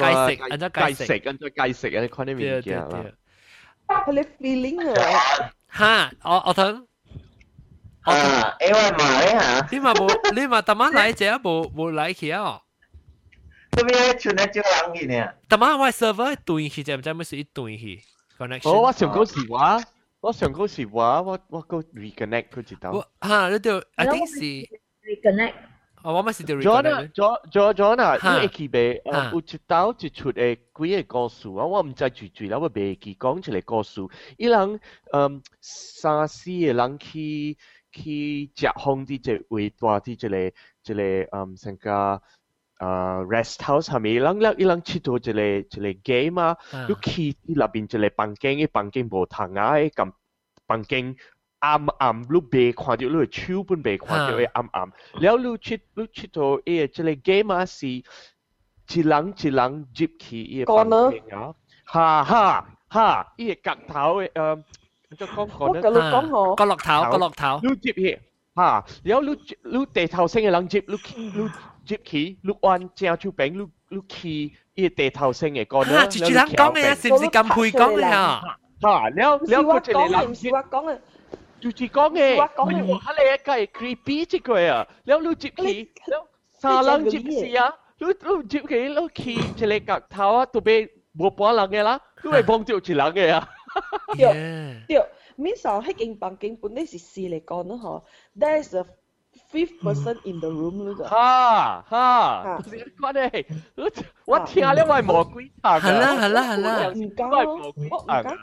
解釋啊，看啲物件啦。 佢哋 feeling 啊。 嚇，我等。 因為嘛咧嚇。 你嘛特晚來者冇來去啊？ 咁樣存喺張冷嘅呢？ 特晚我 server 對去就唔知咩事一對去 connection。 我上嗰時話，我個 reconnect 佢知道。 你對 I think 是 reconnect。 我咪是對 reconnect。 John 你記俾有一道一出嘅幾個故事啊，我唔知住啦，我未記講出嚟故事。伊人三四個人去食烘啲隻位大啲一個成個rest house 係咪？伊人切到一個 game 啊，你去入邊一個房間，房間無窗啊，咁房間暗暗，你未看到，你手本未看到嘅暗暗。แล้ว你出到即個 game 啊是一人接起伊個房間啊，哈，伊個角頭嘅就講角落頭， 你接起哈，แล้ว你地頭先嘅人接，你接起，你按正手柄，你起伊個地頭先嘅個呢， 住人講嘅是唔是咁配講嘅啊？ 哈，แล้ว個這個人唔是話講嘅。 住講嘅，我睇你一個係 creepy 即個啊，แล้ว你接起，แล้ว三人接時啊，你接起，你起一個角頭啊，都俾冇半人嘅啦，都係幫到一人嘅啊。 對，面上迄間房間本來是4嚟講咯嗬 ，there is a 5th person in the room 咯。 哈，唔是關係，我聽了我係魔鬼頭。 係啦， 唔講，我唔講。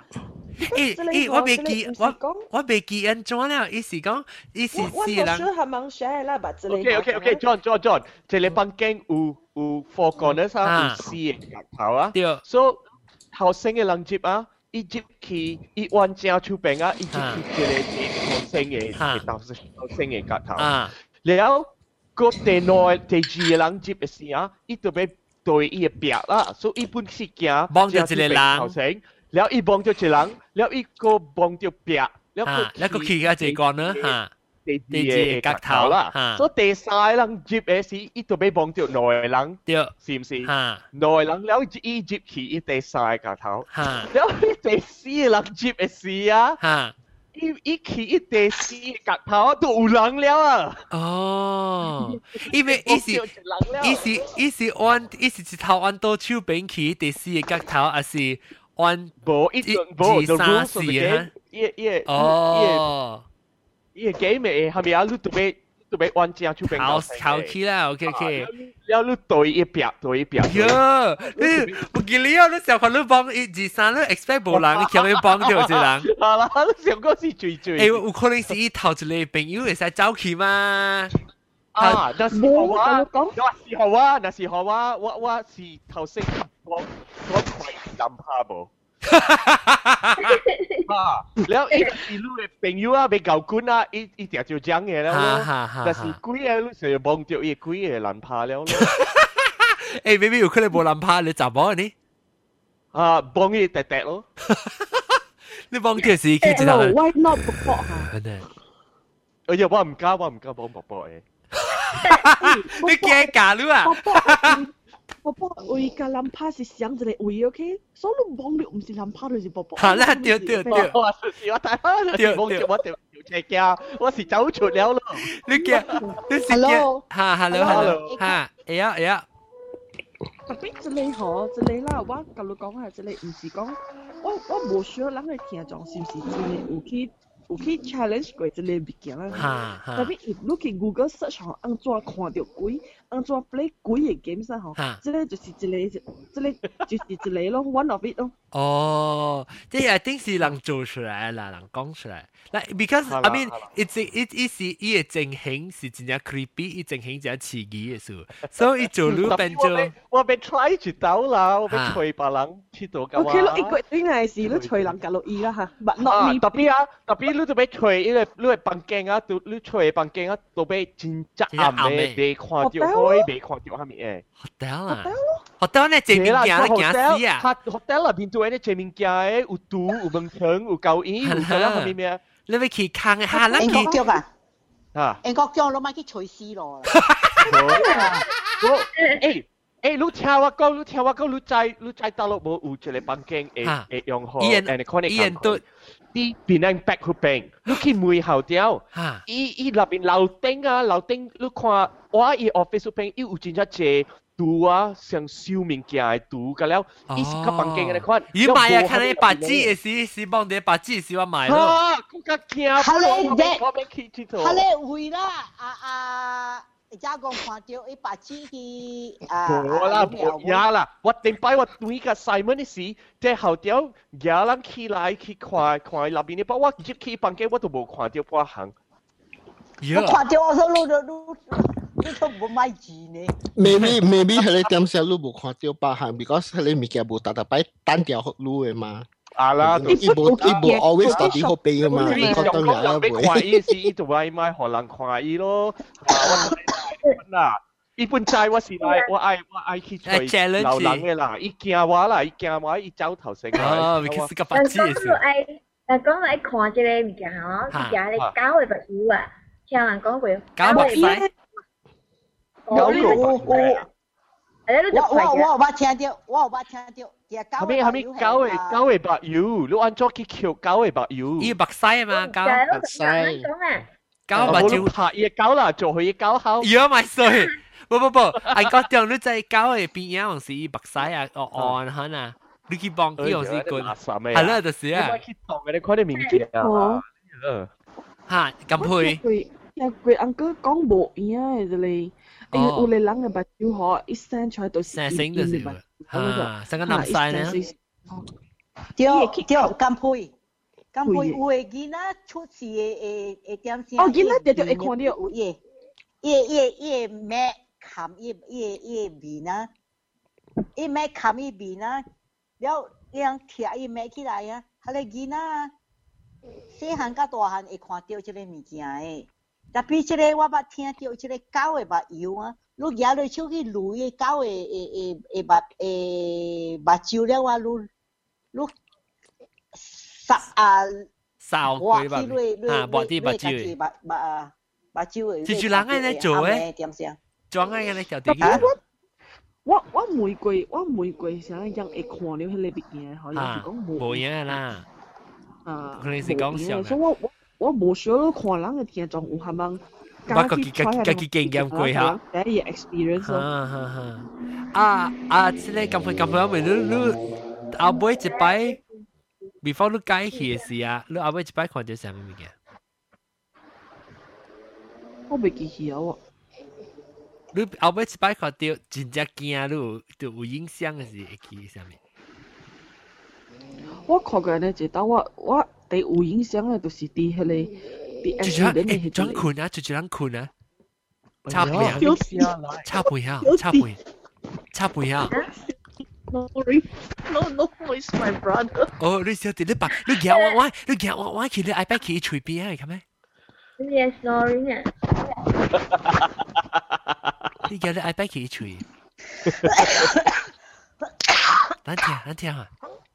我未記安怎了，意思講，意思是人。 我係問 share 啦，把這裡。 OK，John，這裡房間有4個呢，有4個角頭啊。 對。 所以後生嘅人接啊，伊接起，伊彎正手柄啊，伊接起一個後生嘅角頭。แล้วก็第2個人接嘅時啊，伊就俾對伊嘅壁啦，所以伊本是驚。 幫咗一個人。 แล้วอีบองจะเฉลังแล้วอีก็บองจะเปียแล้วก็ขี่กับเจก่อนเนอะตีเจกักเท้าละ所以第3人接嘅時伊就俾บองจะหน่อยหลัง是唔是หน่อยหลังแล้วอี接ขี่อี第3กักเท้าแล้วอี第4人接嘅時啊อีขี่อี第4กักเท้า都有人了啊哦因為伊是按伊是一頭按到手柄ขี่第4個角頭還是按無一2 3 4啊！ 哦， 伊個 game 嘅係咪啊？你特別玩正出邊考起啦 ，OK。 แล้ว你對一邊。 喲，你唔記你啊？你成日你幫1 2 3，你 expect 無人，你強要幫到一人。 係啦，你上個是最。 誒，有可能是伊頭一個朋友會使走去嘛？ 啊，那時候啊，我是頭先我快諗下無。แล้วอีลูกเป็นยูอ่ะเป็นเก่ากุ้นอ่ะอีเดี๋ยวจะจัง嘅แล้วแต่是鬼啊ลูก成日望到伊鬼嘅難怕了誒 maybe 有可能冇難怕你查某呢啊望伊滴滴咯你望到時佢知道 why not 卜卜嚇哎呀我唔加望卜卜嘅你驚假lu啊波波位個諗怕是想一個位 ，OK？所以你望到唔是諗怕就是波波。 係啦，對。 我是我睇下，你望住我條斜鏡，我是走出了咯。 你驚？你是驚？哈 ，hello，哈，哎呀。 特別一個嗬，一個啦，我甲你講下，一個唔是講，我無需要人去聽講是唔是真嘅有去 challenge 過一個物件啦。特別你去 Google search 嗬，安怎看到鬼，安怎 play 鬼嘅 game 先嗬，這個就是一個咯 ，one of it 咯。 哦，即係 I think 是人做出來啦，人講出來。Like because I mean it 是伊嘅情形是真正 creepy，伊情形真刺激嘅事，所以做路變咗。 我被 try 住到啦，我被吹別人知道㗎嘛。 OK 咯，一個應該是你吹人格落意啦嚇，but not me。 特別你就被吹，因為你房間啊，你吹房間啊，都被真正暗嘅，未看到開，未看到下面誒。 hotel 呢正面鏡都驚死啊 ！hotel 入邊做啲正面鏡誒，有圖，有門窗，有狗椅，有嗰啲係咩？ 你咪去坑下啦， 英國腳啊！ 啊！ 英國腳攞埋去吹絲咯。 你聽我講，你在大陸冇有一個房間會用好，伊都啲變成白虎餅，你去門後條，伊入邊樓頂，你看我伊 office 邊，伊有真正濟。圖啊，像燒面鏡嘅圖㗎了，伊是個房間嘅款。 伊買啊，看你白紙嘅時幫你白紙時我買咯。 更加驚！ 佢哋會啦，而家講看到一白紙嘅冇啦，我定擺我對個 Simon 嘅時，即後條有人起來去看入邊嘅，不過我入去房間我都冇看到半行。 我看到我說你都冇買字呢。 maybe 佢哋點寫你冇看到把行 ，because 佢哋物件冇特別擺單調路嘅嘛。 啊啦， 伊無 always 到底好俾啊嘛， 你當然啦， 你看伊是伊就愛買互人看伊咯。嗱，伊本債我是來我愛去吹流人嘅啦，伊驚我啦，伊驚我伊走頭先。 哦，你是個白痴嘅事。 但講來看這個物件吼，物件你搞嘅白油啊，聽人講過。 搞白曬。 我有捌聽到， 後尾狗嘅白油，你按咗去撬狗嘅白油。 伊白曬嘛，狗白曬。 狗白椒拍伊狗啦，做佢狗口。 妖咪衰，不，我覺得你在狗嘅邊樣是伊白曬啊，按下啊，你去幫伊樣是個，係啦，就是啊。 去當嘅你看啲面鏡啊， 嚇咁配。 佢阿哥講無影嘅咧。有啲人嘅白椒嗬，一生出來都是生就是啊，生個南西呢？ 對，咁配有嘅囡仔出事嘅點先？ 哦，囡仔就會看到有伊咩冚伊面啊，伊咩冚伊面啊，了讓貼伊咩起來啊，係個囡仔細漢甲大漢會看到這個物件誒。特別即個我捌聽到即個狗嘅目油啊，你舉落手去濾個狗嘅目睭了，我你掃佢吧，抹啲目睭嘅，是住人嘅嚟做嘅，裝嘅嚟條條。 我玫瑰成日人會看了迄個物件，可能是講無影啦，可能是講笑。 所以我無想到看人嘅聽眾有係咪？ 我自己經驗過嚇。 第一 experience 咯。 即係咁樣咪你後尾一擺 ，before 你解去嘅時啊，你後尾一擺看到啥物物件？ 我未記起啊喎。 你後尾一擺看到真正驚，你有影響嘅時會記啥物？ 我看過呢，就當我。第有影響嘅就是啲迄個啲 accident 嘅裝困啊，就人困啊，插背啊。 No, it's my brother. 哦，你小弟你把你叫我去你 iPad 去隨便係咩？ 你係 snoring 啊？ 你叫你 iPad 去隨。等聽啊！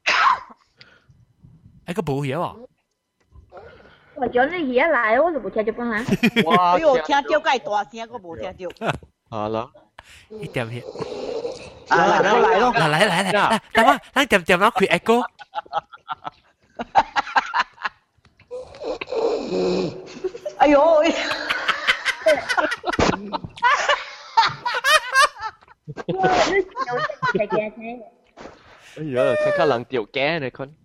個冇嘢喎。 我叫你而家嚟，我就冇聽到講啦。 哇！我聽到介大聲，我冇聽到。 好啦， 一點嘢。 嚟咯！ 嚟，等我，咱點啦，開 echo。 哎呦！ 哎呀，睇下人掉驚你看。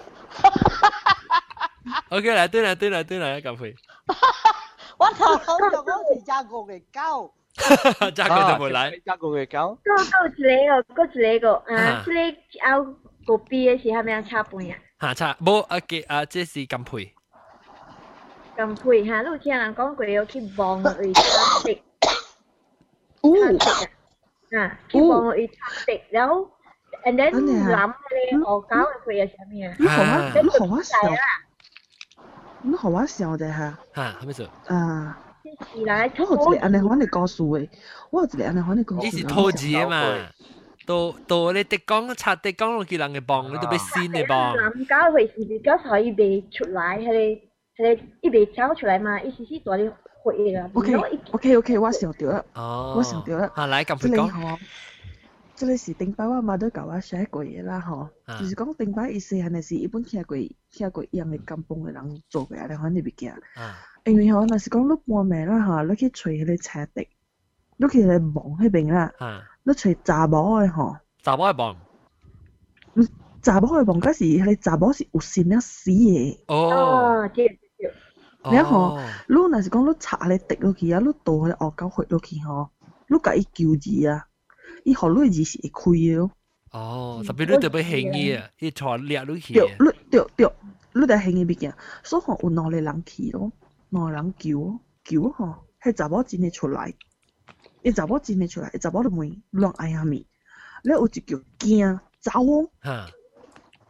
OK 啦，對啦，咁會。 我頭講是加國嘅狗。 加國就冇嚟。 加國嘅狗。 嗰個啊，即係拗個 B 嘅時候，係咪插半啊？ 嚇插，冇即係咁配。 咁配嚇，你有聽人講過有去望佢插的。去望佢插的，然後。And then 諗你我搞佢係咩啊？ 你學我笑，你學我笑的嚇。 嚇，係咩事？ 是來， 我有一個安尼款的故事誒，我有一個安尼款的故事。 你是拖字啊嘛？到你滴講插滴講落去人嘅幫，你都俾先嘅幫。 諗搞佢是比較少一被出來，係一被找出來嘛，意思是做啲血㗎。 OK，我想到啦，我想到啦。 嚇，嚟咁佢講。 即係是頂擺我媽都教我寫過嘢啦，嗬，就是講頂擺意思係係是一般聽過一樣嘅金崩嘅人做嘅，你看呢邊嘅，因為嗬，那是講你半暝啦嚇，你去吹迄個車笛，你去嚟望迄邊啦，你吹查某嘅嗬， 查某嘅望， 查某嘅望嗰時係查某是有線一死嘅，你嗬，你那是講你插嚟滴落去啊，你倒喺惡狗血落去嗬，你甲伊叫字啊。伊學你字是會開嘅咯。 哦，特別你特別興嘅，伊坐掠落去。 對，你哋興嘅物件，所以有兩個人去咯，兩個人叫嗬，係查某真係出來，伊查某真係出來，查某就問亂嗌下面，你有一叫驚走哦，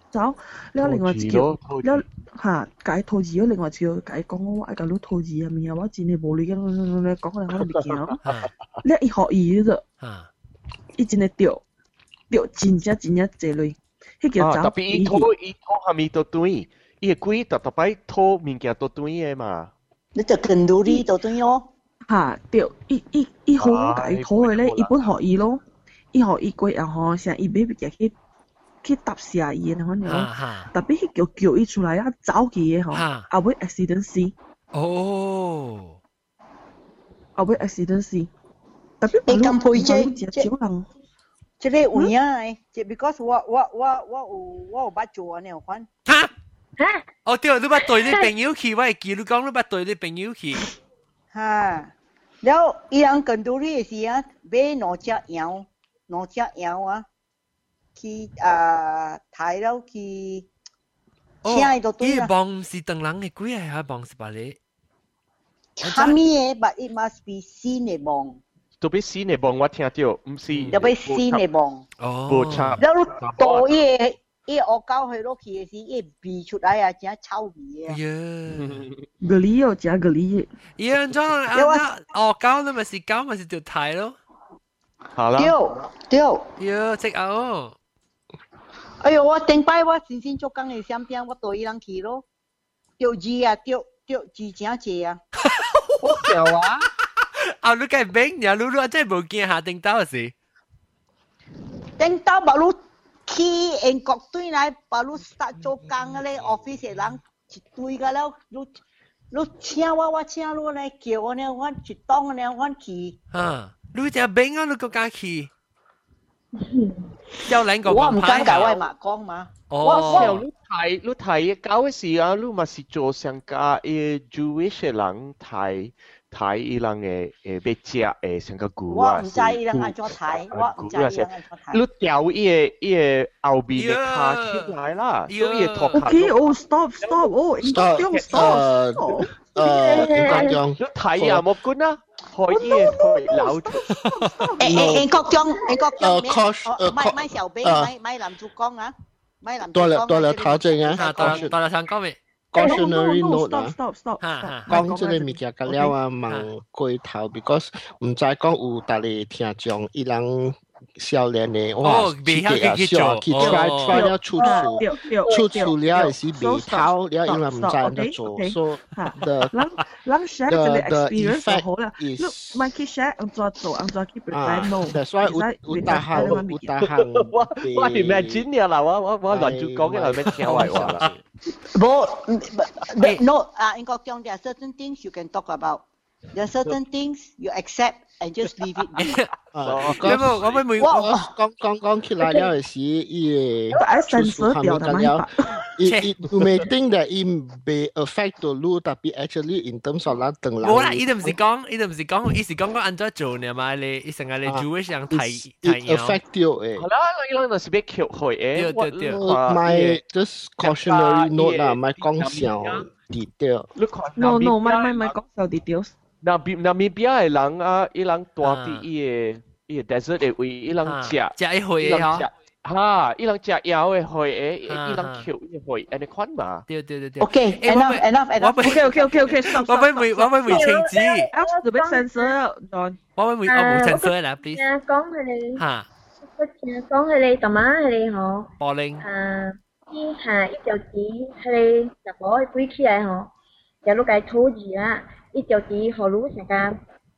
走，你另外一叫，你嚇解套字，另外一叫解講我愛甲你套字啊，面啊，我真係無理嘅，講可能我未見咯。你一學伊啫，伊真係掉真正濟類，迄叫走。 特別伊拖下面到對，伊個龜特別拖物件到對嘅嘛。 你就跟到呢到對咯。 嚇掉，伊好解拖嘅咧，伊本學伊咯，伊學伊龜啊吼，成伊俾物件去搭下伊嘅款樣，特別迄叫伊出來啊走去嘅吼，後尾 accident 死。 哦， 後尾 accident 死。特別你咁配啫， 少人。 即係有影誒，即 because 我有捌做啊，你有款。 嚇？哦對，你捌對你朋友去，我會記你講你捌對你朋友去。 嚇，然後伊人跟到你嘅時啊，買兩隻羊啊。去睇到去，請到對啦。 伊幫是當人嘅鬼係幫是吧你？ 蝦米嘅，but it must be 新嘅幫。 特別新嘅幫我聽到，唔是。 特別新嘅幫。 哦。 冇差。 然後到伊惡狗去落去嘅時，伊味出來啊，真臭味嘅。 咖喱哦，真咖喱。 伊安怎惡狗你咪是狗咪是條睇咯。 好啦。 對。 喲，即係。 哎呦，我頂擺我先做工嘅相片，我對伊人去咯，釣魚啊，釣真濟啊， 好笑啊！ 啊，你梗係明呀，你真係冇見下頂到時。 頂到把你去英國對來，把你 start 做工嘅咧 office 嘅人一堆個了，你請我請你嚟叫我呢，我一當呢，我去。 啊，你就明啊，你個假期。有兩個我唔敢搞外馬講嘛。 我你睇搞嘅時啊，你咪是做上加誒 Jewish 嘅人睇伊人嘅要食誒上個骨啊。 我唔知伊人安怎睇，我唔知伊人安怎睇。 你調伊個後邊嘅卡出來啦，所以托卡。 Okay，哦 ，stop，哦，應該用 stop。 你睇啊，冇管啊。可以留。 英國中，買小兵，買男主角啊，買男主角。 多了考證啊， 多了想講咩 ？cautionary note 啊， stop， 講即個物件個了啊，問過頭 ，because 唔知講有大家聽眾伊人。少年的哇，去去 try 了出了是未透了，因為唔知人哋做，so the experience 好啦，你咪去 share 安怎做，安怎去 prepare no。 That's why 有大行， 我 imagine 啦，我亂住講嘅係咩聽壞話啦。 No， 英國講 there are certain things you can talk about. There are certain things you accept and just leave it be. 我咪每講起來了時，伊出書下面講了，you may think that it may affect to you，但係 actually in terms of 啦，等人。 冇啦，伊都唔是講，伊是講安怎做呢嘛？你伊成日你 Jewish 人睇 affect 到誒。 係啦，伊兩就是俾橋去誒。 對。 My just cautionary note 啦，咪講小 detail。 No，咪講小 details。 那邊嘅人啊，伊人住喺伊個 desert 嘅位，伊人食一回嘅嚇，伊人食藥嘅回誒，伊人橋嘅回，安尼款嘛。 對。 Okay，enough。 我咪回清子。 做咩 censor？ 我咪冇 censor 啦 ，please。 講佢哋嚇。 講佢哋同埋佢哋嗬。 柏林。 依下一條子佢哋就攞去歸起來嗬，就攞個土字啦。一條字何如成個，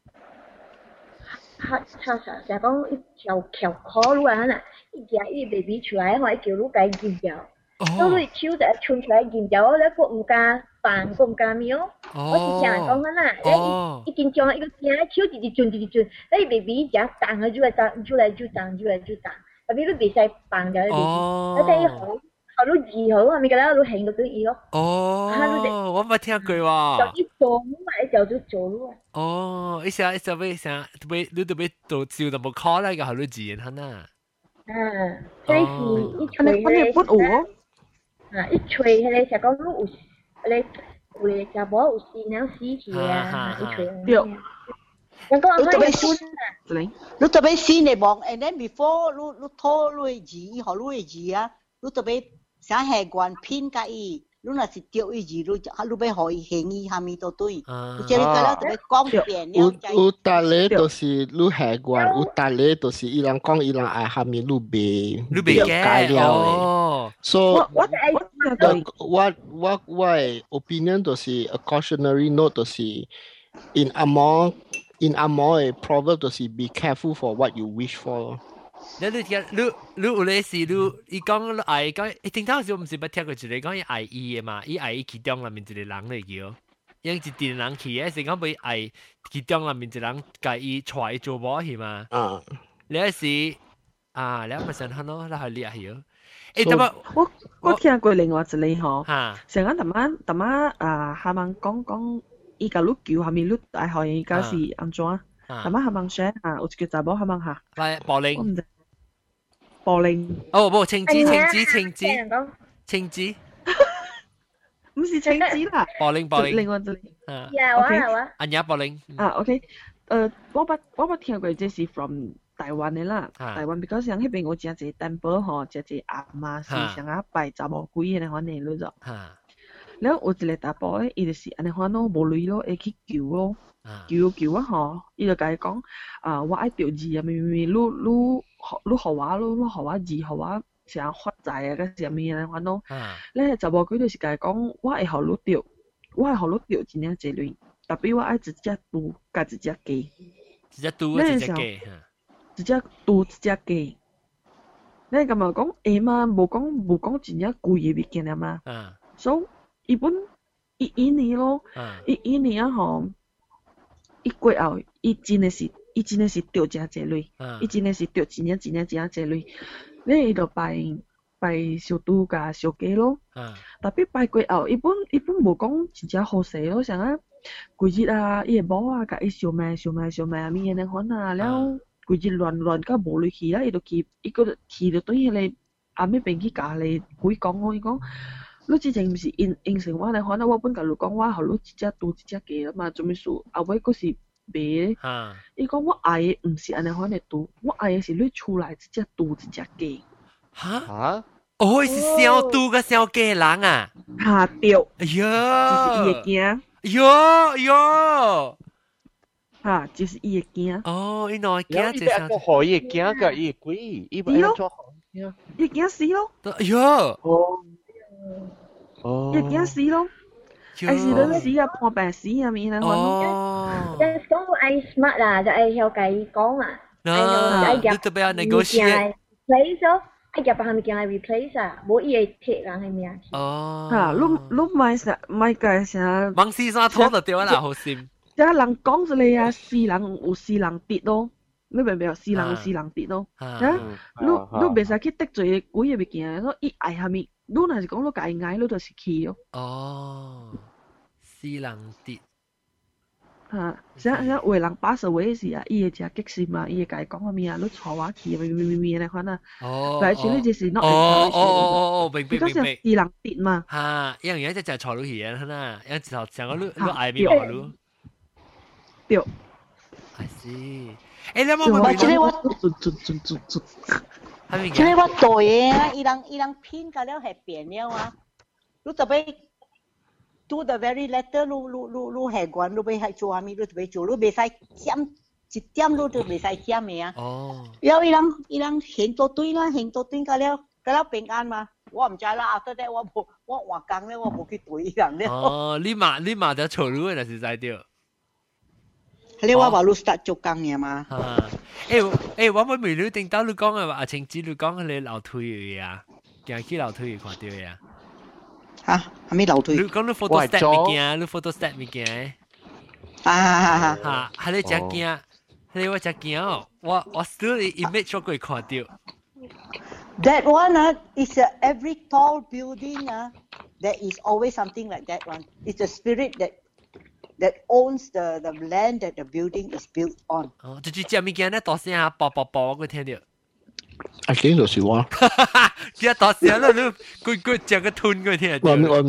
成講一條橋可如啊，一隻一 baby 出來，我一條如個尖條，所以手就衝出來尖條，我咧個唔加飯，個唔加麵哦。我是成日講緊啦，一緊張一個聲，手直轉，你 baby 只彈佢就嚟，特別你別使飯嘅 baby，你睇好。好多字好，係咪㗎啦？都興到啲嘢咯。 哦，我冇聽過喎。 就一做咪就做咯。 哦，一下你特別做笑就冇 call 啦，個好多字嘅啦。 所以是一吹咧，一吹咧就講有咧，會就冇有事了死去啊，一吹。對。你特別先嚟望，and then before 你拖你字，學你字啊，你特別。 啥下关偏甲伊，你若是钓伊鱼，你要互伊行伊下面都对，即个了就要讲变了。 有搭咧就是你下关，有搭咧就是伊人讲伊人爱下面你袂改了诶。So what opinion 就是 a cautionary note 就是 in Amor 嘅 proverb 就是 be careful for what you wish for。 你有咧是伊讲爱讲，顶头时我毋是捌听过一个讲伊爱伊诶嘛，伊爱伊其中内面一个人嚟叫，因一阵人去诶，是讲要爱其中内面一个人甲伊带做某去嘛。你是你咪想看咯，你系厉害哟。等下我听过另外一个吼，成日淡仔下问讲伊甲你叫下面你爱互伊搞是安怎？淡仔下问说有一个查某下问下， 保齡。 保齡冇青子， 唔是青子啦， 保齡， 另外一個安雅保齡 OK， 我捌聽過，這是 from 台灣嘅啦，台灣 because 像迄邊有真濟 temple 吼，真濟阿媽是像啊拜查某鬼嘅款嘅咯，然後有一個查甫嘅，伊就是安尼款咯，無鐳咯，會去求咯。叫啊吼，伊就甲伊講我愛釣字啊，咪你互我，你互我字，互我啥發財啊，個啥物啊，款咯。咧查某鬼就是甲伊講，我會互你釣，真領濟類，特別我愛一隻豬甲一隻雞， 一隻豬一隻雞， 一隻豬一隻雞。咧咁啊講嘛，無講真正貴嘅物件啊嘛。所以伊年咯，伊年啊吼。伊過後，伊真的是釣真濟類，伊真的是釣真濟類。咧伊就拜小豬甲小雞咯。特別拜過後，伊本無講真正好勢咯，像啊規日啊，伊個某啊甲伊燒賣啊物嘢款啊，了規日亂甲無落去啦，伊個去就對迄個阿妹邊去甲你鬼講我，伊講。你之前毋是應承我嚟，可能我本甲你講，我互你一隻豬一隻雞啊嘛，做咩事？後尾佫是賣咧。伊講我愛嘅毋是安尼款嘅豬，我愛嘅是你厝內一隻豬一隻雞。 哦，是小豬甲小雞人啊？ 對。 哎呀， 就是伊會驚。 喲。 就是伊會驚。 哦，伊哪會驚？ 伊個何伊會驚甲伊會鬼？伊會安怎好？ 伊會驚死咯。 哎呀。 伊驚死咯，愛是撚死啊，破病死啊，咪啦， 即係講愛 smart 啦，就愛曉甲伊講啊，愛入特別 negotiate replace 咯，愛入別物件來 replace 啊，無伊會貼人係咩？ 你咪介啥？ 忙死啥拖就掉啦，好心。 即係人講出嚟啊，是人有是人跌咯，你明唔明啊？是人有是人跌咯，你袂使去得罪鬼嘅物件，所以愛下面。你若是講你家己愛，你就是去咯。 死人跌。 像為人把手為時啊，伊會真激心嘛，伊會家己講個咩啊，你帶我去咪嚟款啊。來處理就是not。 明。 嗰時是人跌嘛。 因為一隻帶落去啊，啦，因就成個你愛咪話你。 對。 I see。你有冇問？即係我對啊，伊人偏甲了係變了啊！你特別 do the very letter， 你係關，你要係做下面，你特別做，你袂使減一點，你都袂使減嘅啊！了伊人行到對啦，行到對甲了平安嘛！我唔知啦，after that我換工咧，我冇去對伊人了。 你嘛就錯路嘅，是在掉。 你話你 start 做工嘅嘛？ 我冇未了定到你講嘅話，阿晴子你講你樓梯嘅啊，行去樓梯看到嘅啊。 係咪樓梯？ 你講你 photo step 物件，你 photo step 物件。係你只驚，你我只驚哦，我 still image 咗佢看到。 That one is every tall building there is always something like that one. It's a spirit that owns the land that the building is built on. 就是只物件咧，大聲啊，啵，我聽到。 I think 就是我。 只大聲啦，你佢只個吞佢聽到。 我。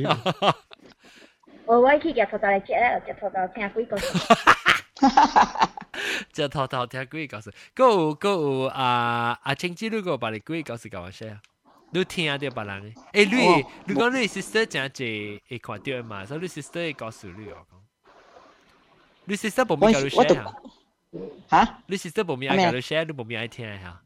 我去日頭嚟接咧，日頭就聽鬼故事。 日頭聽鬼故事，嗰個阿青子嗰個把你鬼故事講下先啊。 你聽到別人誒，你講你 sister 真係會看到嘛？所以你 sister 會告訴你我講，你 sister 冇咩教你 share 啊？ 嚇？ 你 sister 冇咩教你 share，你冇咩愛聽嚇？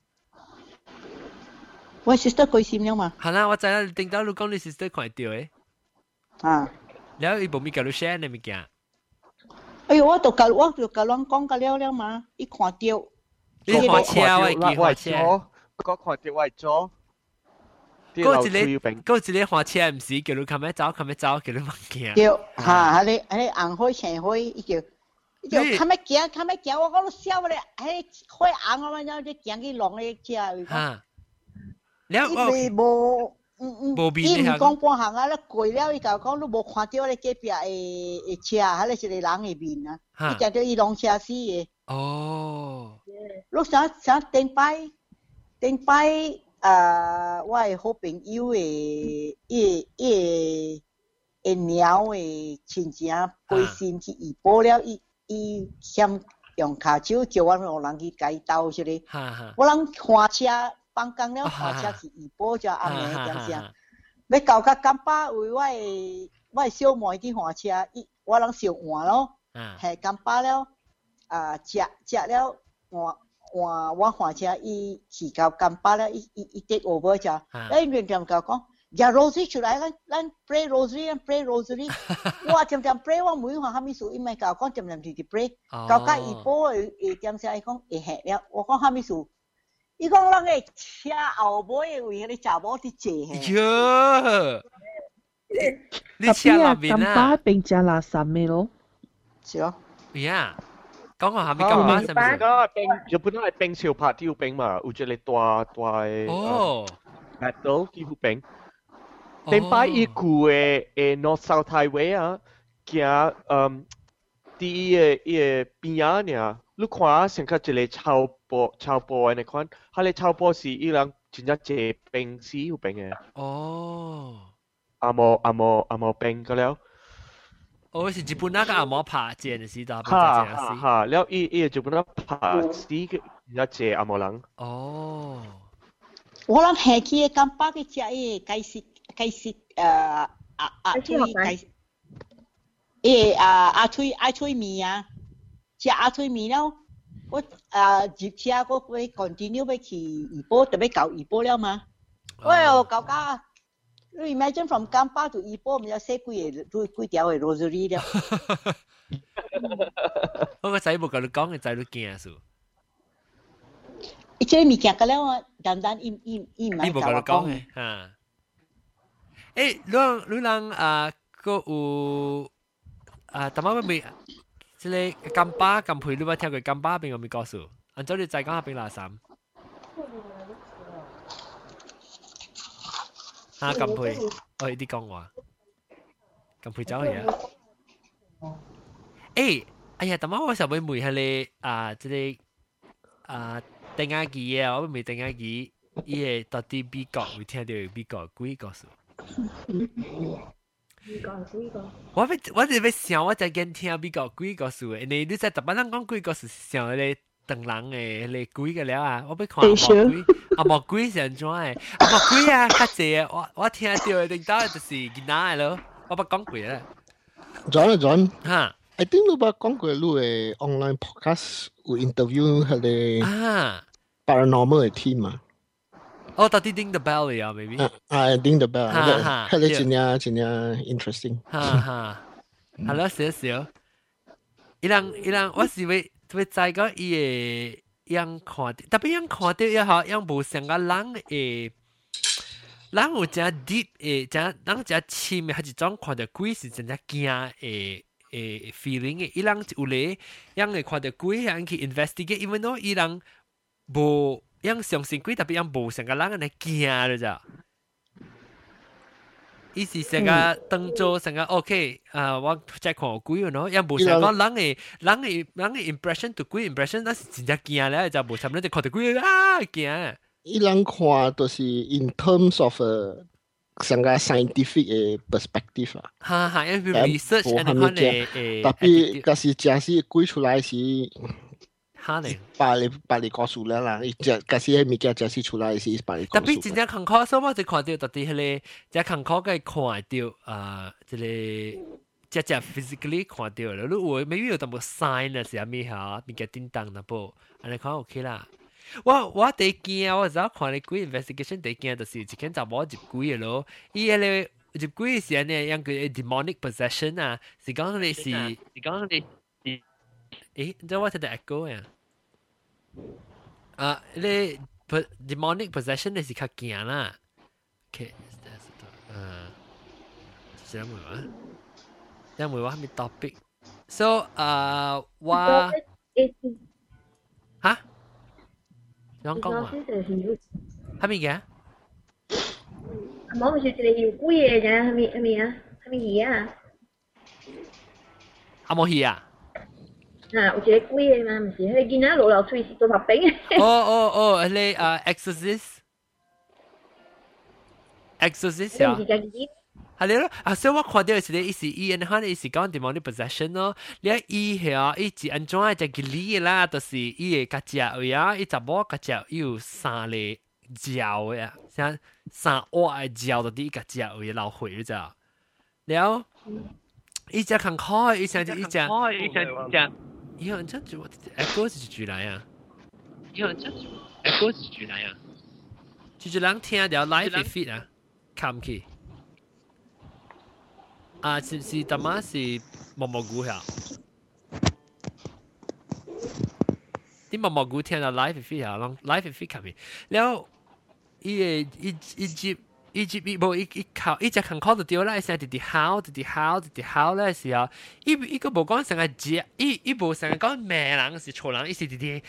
我 sister 貴閃了嘛？ 係啦，我知啦，聽到你講你 sister 看到誒。 啊！ 然後伊冇咩教你 share 呢物件。 哎呦，我就甲人講甲了嘛，伊看到。 你看車我記看車， 我看到我做。 嗰一個看車唔是叫你咁樣走，叫你唔驚。 叫嚇，你紅開青開，伊叫咁樣行，我講你笑咧，係開紅啊嘛，然後你行去浪咧車。 嚇！然後伊冇。伊唔講半行啊，你過了伊就講你無看到你隔壁嘅車，迄個是個人嘅面啊，伊就叫伊浪車死嘅。 哦。 你想頂擺我係好朋友嘅，伊鳥嘅親戚背心去移保了，伊嫌用骹手叫我讓人去改刀出嚟，我人看車。放工了，開車去怡保就暗暝點聲，要到甲金巴為我小妹去換車，我人小換咯，係金巴了，食了我換車，伊去到金巴了，伊take over就，你亂點講，呀 Rosary 出來，咱 pray Rosary，我點 pray， 我每下蝦米數，伊咪講點直 pray， 到甲怡保誒點聲，伊講會嚇了，我講蝦米數。伊講人個車後尾為迄個查某佇坐嘿。你車那邊啊？ 咁巴並只垃圾咩咯？ 是咯。 呀，講下下面咁巴係咪？ 日本係冰潮拍條冰嘛，有隻你大哦。 battle 幾乎冰。頂擺伊古嘅North South Highway 啊，行啲伊邊啊呢？你看成個一個超波嘅你看，佢哋超波是伊人真正坐冰死有冰嘅。 哦。 阿冇冰個了。 哦，是日本那個阿冇拍正嘅時代。 哈，了伊日本那拍死嘅，一隻阿冇人。 哦。 我諗下期嘅金巴嘅隻嘢解釋阿推米啊。食阿推麵了，我接車我會 continue 要去怡保，特別到怡保了嘛。哎呦，搞架！你 imagine from 金巴到怡保，唔有寫幾條嘅 rosary 了。 我個仔冇教你講嘅仔都驚數。 伊這物件個了啊，單伊唔係教我講嘅。 嚇！誒，你個有淡薄未？即係金巴金培，你有冇聽過金巴邊個咪告訴？按照你再講下邊垃圾。嚇金培，我呢啲講話，金培走去啊！誒，哎呀，淡薄我上尾問下你即係定下機啊，我未定下機，伊個到底美國會聽到美國幾個數？我哋要想，我就見聽美國幾個數嘅，你在特別人講幾個數想你等人嘅你幾個了啊？我要看阿莫幾想怎嘅？阿莫幾啊，較濟啊！我聽到嘅領導就是囡仔咯，我不講過啦。 John， 嚇 ，I think 你捌講過你嘅 online podcast 有 interview 佢哋 paranormal 嘅 team 嘛？ 哦，到底 ding the bell 嚟啊 ，maybe。 ding the bell，佢哋真係 interesting。 係咯，少。伊人我是會知個伊個樣看，特別樣看到又好，樣無像個人誒，人有真 deep 誒，真人真深嘅，係一種看到鬼是真正驚誒 feeling 嘅。伊人有咧樣會看到鬼，樣去 investigate，因為喏伊人無。樣相信鬼特別樣無成個人嚟驚了咋？伊是成個當做成個 OK，我再看鬼咯，樣無成個人嘅 impression 對鬼 impression，那是真正驚咧，就無差唔多就看到鬼驚。 伊人看都是 in terms of 成個 scientific 嘅 perspective 啦。 因為 research 你看誒， 特別嗰時假使鬼出來時。 哈呢？ 把你告訴了啦，伊只假使迄物件假使出來是把你告訴。 特別真正坎坷，所以我就看到特啲迄個，只坎坷嘅看到即個只 physically 看到了，如果 maybe 有淡薄 sign 啊，是阿咩嚇，物件叮當那部，安尼看 OK 啦。我第驚，我早看你幾 investigation 第驚就是一間查某入幾嘅咯，伊迄個入幾時安尼樣個 demonic possession 啊，是講你是講你。誒，你知我睇到 echo 呀？你 demonic possession 你是較驚啦。OK，這樣會話，這樣會話咩 topic？So，我嚇，想講話？係咪嘅？ 冇，就是你要估嘢啫，係咪啊？係咪嘢啊？ 阿冇嘢啊？ 有一個鬼的嘛，唔是，迄個囡仔落流喙是做白冰的。 迄個exorcist 啊。係咯，所以我看到是咧，伊是伊安可能伊是講 demonic possession 咯。你伊係伊是安怎一隻吉利啦，就是伊個家隻位啊，伊查某家隻有三個鳥嘅，像三隻鳥就啲家隻位流血你知道？了，伊只坎坷，伊只。以後真就 echo 是住嚟啊！以後真 echo 是住嚟啊！住人聽到 live feed 啊，冚去啊！是大媽是毛毛菇呀？啲毛毛菇聽到 live feed 啊，讓 live feed 冚去，然後伊冇伊靠伊只坎坷就掉啦，成日喊咧時候，伊個無講成個隻，伊無成日講咩人是錯人，伊是啲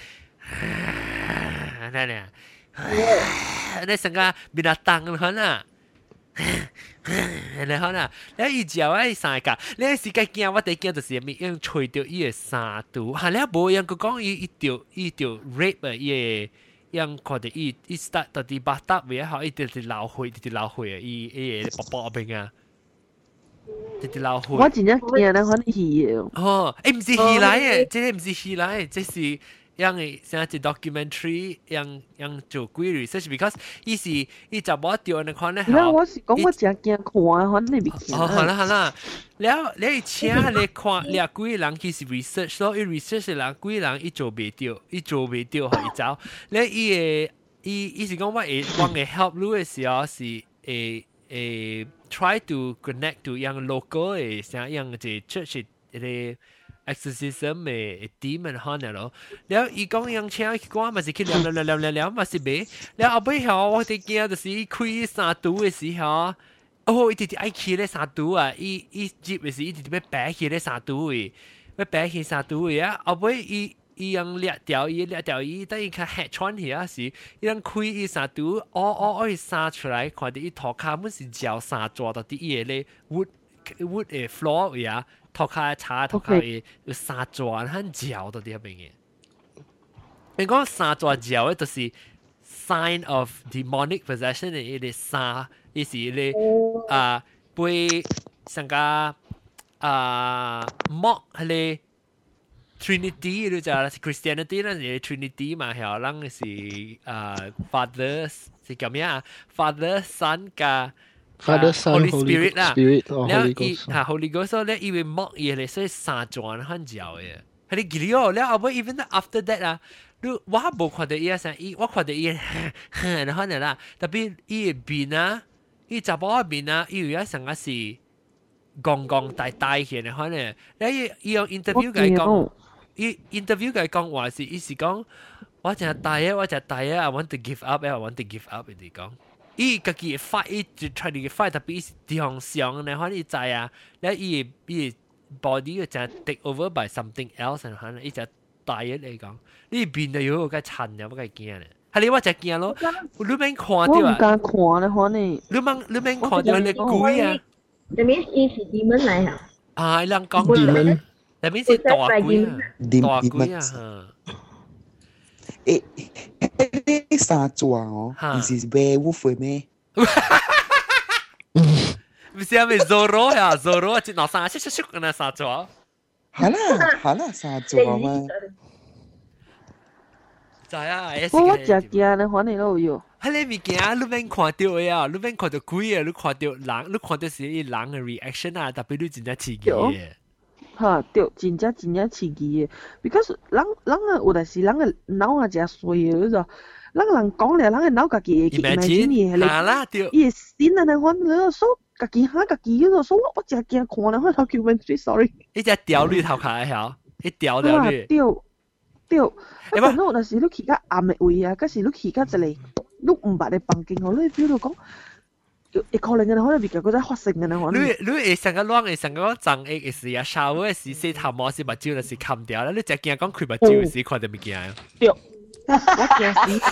嗱，你成個變得當可能，你可能，你伊之後伊三個，你時間見我第見就是咪用吹掉伊個沙毒，係你無樣佢講伊掉 rape 啊伊個。樣看到伊 start 到啲巴達位好，伊直流血啊！伊薄邊啊，直流血。 我真正驚咧，可能係哦，唔是戲來嘅，這個唔是戲來，這是樣嘅，像一 documentary 樣做鬼 research，because 伊就冇掉你看咧。 我是講我真驚看，可能你唔見。 好啦，แล้ว你請你看你幾人其實 research 所以 research 嘅人幾人伊做袂掉，可以走。你伊是講我會 help 你嘅時候是try to connect to 樣 local 嘅像樣嘅 church 嘅 exorcism 嘅 demon 可能咯。แล้ว伊講樣請佢講咪是去聊咪是袂。แล้ว後尾後我哋見就是開三度嘅時候。伊直直愛去咧三度啊！伊接嘅時，伊直直要擺去咧三度位，要擺去三度位啊！後尾伊用掠掉伊，等伊較嚇穿去啊時，伊用開伊三度，伊生出來，看到伊頭殼本是鳥生抓到啲嘢咧，wood 嘅 floor 位啊，頭殼查頭殼嘅有生抓，很鳥到啲邊嘅。你講生抓鳥咧，就是 sign of demonic possession 嘅伊啲生。意思咧被成個mock 係咧 Trinity 你知啦 ，Christianity 啦，係 Trinity 嘛，係人是Father 是咁樣啊 ，Father Son 加 Father Son Holy Spirit 啦， แล้ว伊Holy Ghost 咧，伊會 mock 伊咧，所以三轉很少嘅，係你記咗，แล้ว後尾 even after that 啊。我冇看到伊啊，我看到伊，然後啦，特別伊邊啊。伊查某面啊，伊有一成個是講大嘅，可能伊用 interview 佢講，伊 interview 佢講話是，伊是講我真係大啊 ，I want to give up， 伊講，伊家己 fight， 伊就 try to fight， 特別是地方上咧，可能伊知啊，然後伊 body 就 take over by something else， 可能伊就大嘅嚟講，呢邊就有個殘有個驚咧。係你我就見咯，你免看到啊！ 我唔敢看咧，可能。 你免看到你鬼啊！ 那邊是demon嚟啊！ 啊，人講 demon，那邊是大鬼啊，大鬼啊！ 誒，三座哦，唔是 werewolf 咩？ 唔是啊，咪 Zorro 呀 ，Zorro 只拿三，咻那三座。 係啦，三座嘛。 知啊， 我真驚你反正都有。 迄個物件你免看到的啊，你免看到鬼啊，你看到人，你看到是伊人嘅 reaction 啊，特別你真正刺激嘅。 哈，對，真正刺激嘅。because 人啊，有陣時人嘅腦啊真衰嘅，就人講咧，人嘅腦家己會去 imagine 嘢， 係伊先啊，你看你所家己嚇家己嗰度，所以我真驚看咧，我documentary，sorry。 一隻掉你頭殼曉，一掉你。 對，但係有陣時你去較暗嘅位啊，嗰時你去較一個，你唔捌你房間哦，你 feel 到講。會可能嘅可能別個嗰啲發生嘅可能。 你會成個亂嘅成個臟液嘅時啊，shower嘅時洗頭毛是目睭就是冚掉啦，你只驚講開目睭時看到物件。 對，我驚死。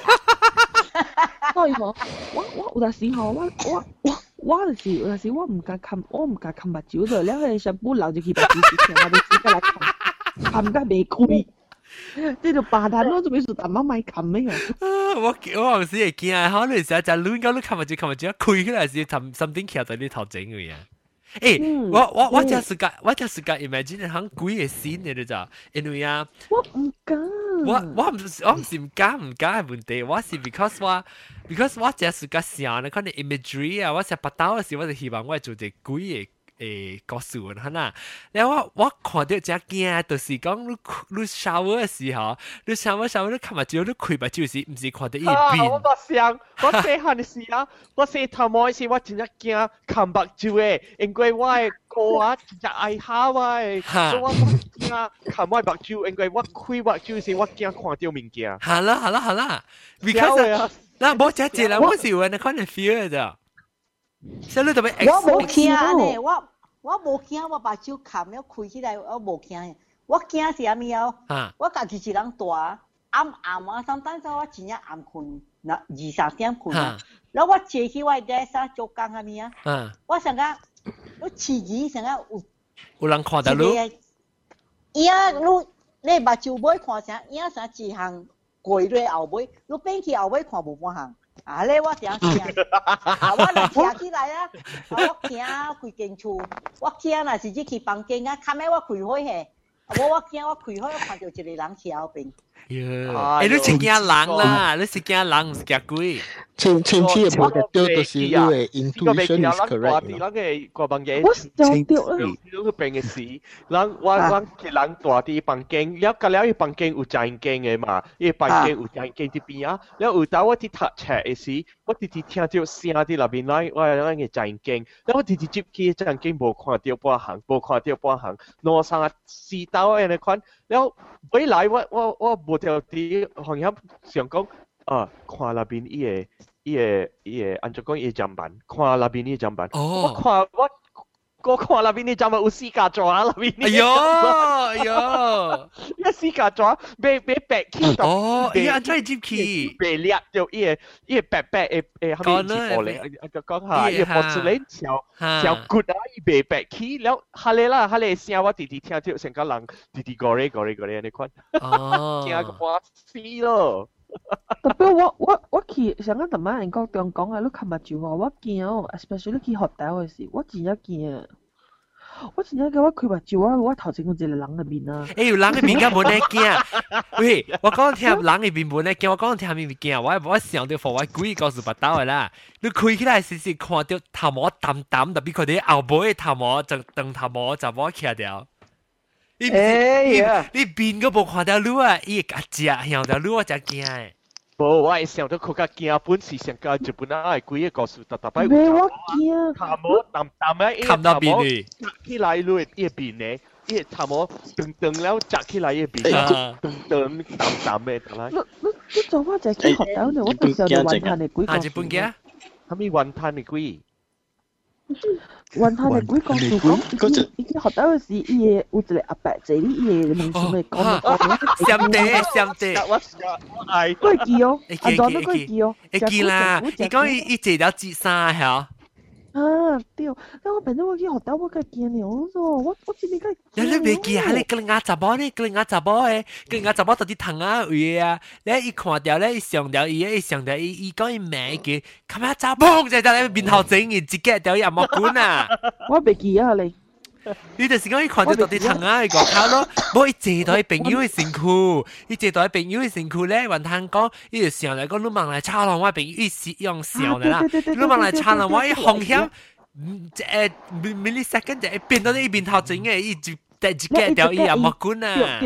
所以我有陣時候我就是有陣時我唔敢冚目睭咗，然後你上半流就去目睭時，我哋自己來冚得未開。即係扮下咯，做咩事？但媽咪冚咩啊？ 我有時會驚啊！可能成日就亂講，你冚目睭，開起來是something 徛在你頭前嘅呀。誒，我真係個 imagine 響鬼嘅scene嚟嘅咋，因為啊， 我唔敢。 我唔是唔敢嘅問題，我是 because 我真係個想咧，可能 imagery 啊，我成日八刀嘅時，我就希望我做隻鬼嘅。故事嚇啦，然後我看到真驚，就是講你 shower 嘅時候，你 shower 你看目睭，你開目睭時，唔是看到一邊。 我想，我細漢嘅時啊，我細頭毛嘅時，我真係驚看目睭嘅，因為我嘅哥啊真係愛嚇我嘅，所以我驚看我目睭，因為我開目睭時，我驚看到物件。 係啦 ，because 嗱，冇只隻啦，我是有人可能 feel 嘅咋。所以你特別， 我冇驚呢，我冇驚，我把手冚了開起來，我冇驚。我驚是啥物啊？我家己一人大，暗啊，三等陣我真正暗困，那2-3點困啊。然後我坐起我desk啊，做工啥物啊？我想講，我刺激想講有人看到你。 伊啊，你目睭尾看啥？伊啊啥一項過落後尾，你變去後尾看無半項。啊！咧我真驚，我若徛起來啊，我驚規間厝，我驚若是去房間啊，看尾我開火嘿，我驚我開火，我看到一個人徛後邊。 你是驚人啦，你是驚人，唔是驚鬼。 前期嘅冇得掉，就是因為 intuition is correct。 我嘅個房間， 我就掉啦。 你病嘅事，我嘅人大啲房間，了隔了一房間有正經嘅嘛，一房間有正經啲邊啊，了有當我啲讀冊嘅時，我直直聽到聲啲入邊來，我嘅正經，了我直直接去正經冇看到半行，攞三四刀嘅你看，了回來我冇條啲行業想講。看那邊伊個，按照講伊個砧板，看那邊伊個砧板。我看那邊伊個砧板有四架抓那邊。 哎呦， 一四架抓，被白起到。 哦，伊按照接起。 被裂掉伊個白誒，後面一玻璃，講下伊個玻璃鏈小骨啊，伊被白起，แล้ว下嚟啦，下嚟聲我直直聽到成個人直直過嚟，你看。哦。驚個半死咯。 特別我去上個同埋人講啊，你冚目睭啊，我驚哦 ，especially 你去學校嘅時，我真係驚。我真係我開目睭啊，我頭前有一個人入面啊。 有人入面敢冇得驚？喂，我講聽人入面冇得驚，我講聽入面驚，我想到我鬼告訴不到嘅啦。你開起來時看到頭毛淡淡，特別佢哋後背頭毛就長頭毛就冇起掉。你邊個冇看到你啊？伊個隻向到你我真驚誒。 無，我係想到佢個驚本是上個日本啊，鬼個告訴特別。 咩我驚？ 頭毛淡淡嘅， 冚到邊去？ 扎起來lui伊邊咧，伊頭毛長了扎起來伊邊，長淡嘅，得啦。 你做乜就去學校呢？我到時候就揾下你鬼。 日本嘅？ 係咪揾下你鬼？ 揾下你鬼告訴講，伊去學校嘅時，伊個有一個阿伯坐你伊個門上面講。 閃地， 我愛。 佢記哦，阿莊都佢記哦。 會記啦，伊講伊坐了節衫嚇。 啊對，但我平時我去學校我梗係驚了咯，我知你梗係。 你未記啊？你個人查某呢？個人查某誒，個人查某到底疼啊位啊？你一看到咧，上到伊上到伊講伊名叫，咁啊查某就喺面頭整，伊自己掉入毛管啊！ 我未記啊你。 你就是講伊看到啲藤啊個口咯，冇伊坐到朋友嘅身軀，伊坐到朋友嘅身軀咧，還通講，伊就想嚟講，你問嚟炒人我朋友，伊是用笑嘅啦，你問嚟炒人我伊風險，millisecond 就變到呢邊頭整嘅，伊就第一個掉伊也冇管啊。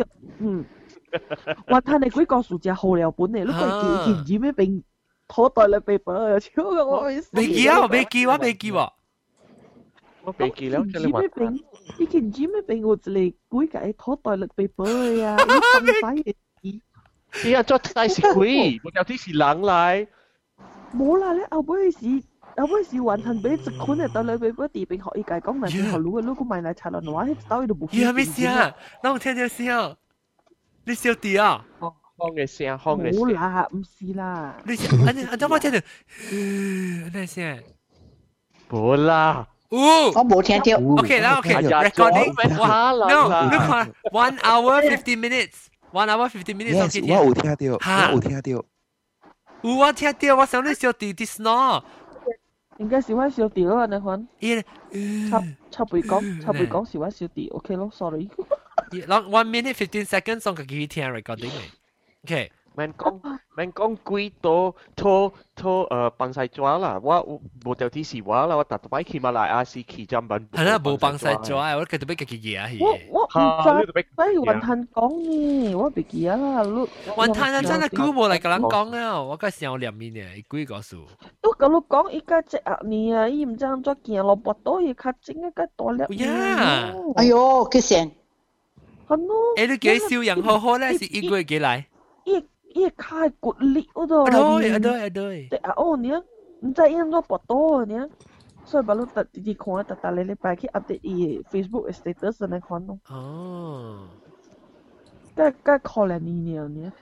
話睇你嗰個數字好了本嚟，你個幾件咩病拖袋嚟被綁又超嘅我意思。 未記啊，未記喎，未記喎。 我未記了， 你咩病？你件紙咩病？我就嚟鬼計拖袋嚟被綁呀！你咁使嘅？ 哎呀，做大是鬼，我有啲是人嚟。 冇啦，你後尾是完全俾一款嚟到你俾嗰地病學依界講嚟，學路嘅，如果買嚟茶樓嘅話，喺兜度冇。 咦，係咩事啊？我聽到聲。你笑啲啊？ 康嘅聲，康嘅聲。 冇啦，唔是啦。 你等我聽到，咩聲？ 冇啦。 我冇聽到。 OK 啦 ，OK。Recording。No， 你看 1 hour 50 minutes。1 hour 50 minutes。 Yes， 我有聽到，我有聽到。 我聽到，我想你笑啲啲 snore。 應該是我笑啲啊，你看。插背講是我笑啲 ，OK 咯 ，sorry。 1 minute 15 seconds 送佢去聽 recording 嚟。OK。 免講幾多幫晒抓啦，我冇掉啲事話啦，我特擺起馬來亞是起針品。 係啦，冇幫晒抓，我繼續俾佢嘢去。 我唔知，所以雲吞講呢，我別記啊， 雲吞啊真係估冇嚟個人講啊，我嗰時候入面嘅幾個數。 都咁你講，依家隻鴨呢啊，伊唔知咁做件蘿蔔多嘢，較整一個多粒。 呀！ 哎呦，幾錢？ 係咯。 誒，你幾少人好好咧？是一個月幾嚟？ 伊開骨力嗰度。 對。 哦，你唔知因咗薄多呢，所以把你特地看，特你禮拜去 update 伊 Facebook status 嚟看咯。 哦。 梗可憐你呢？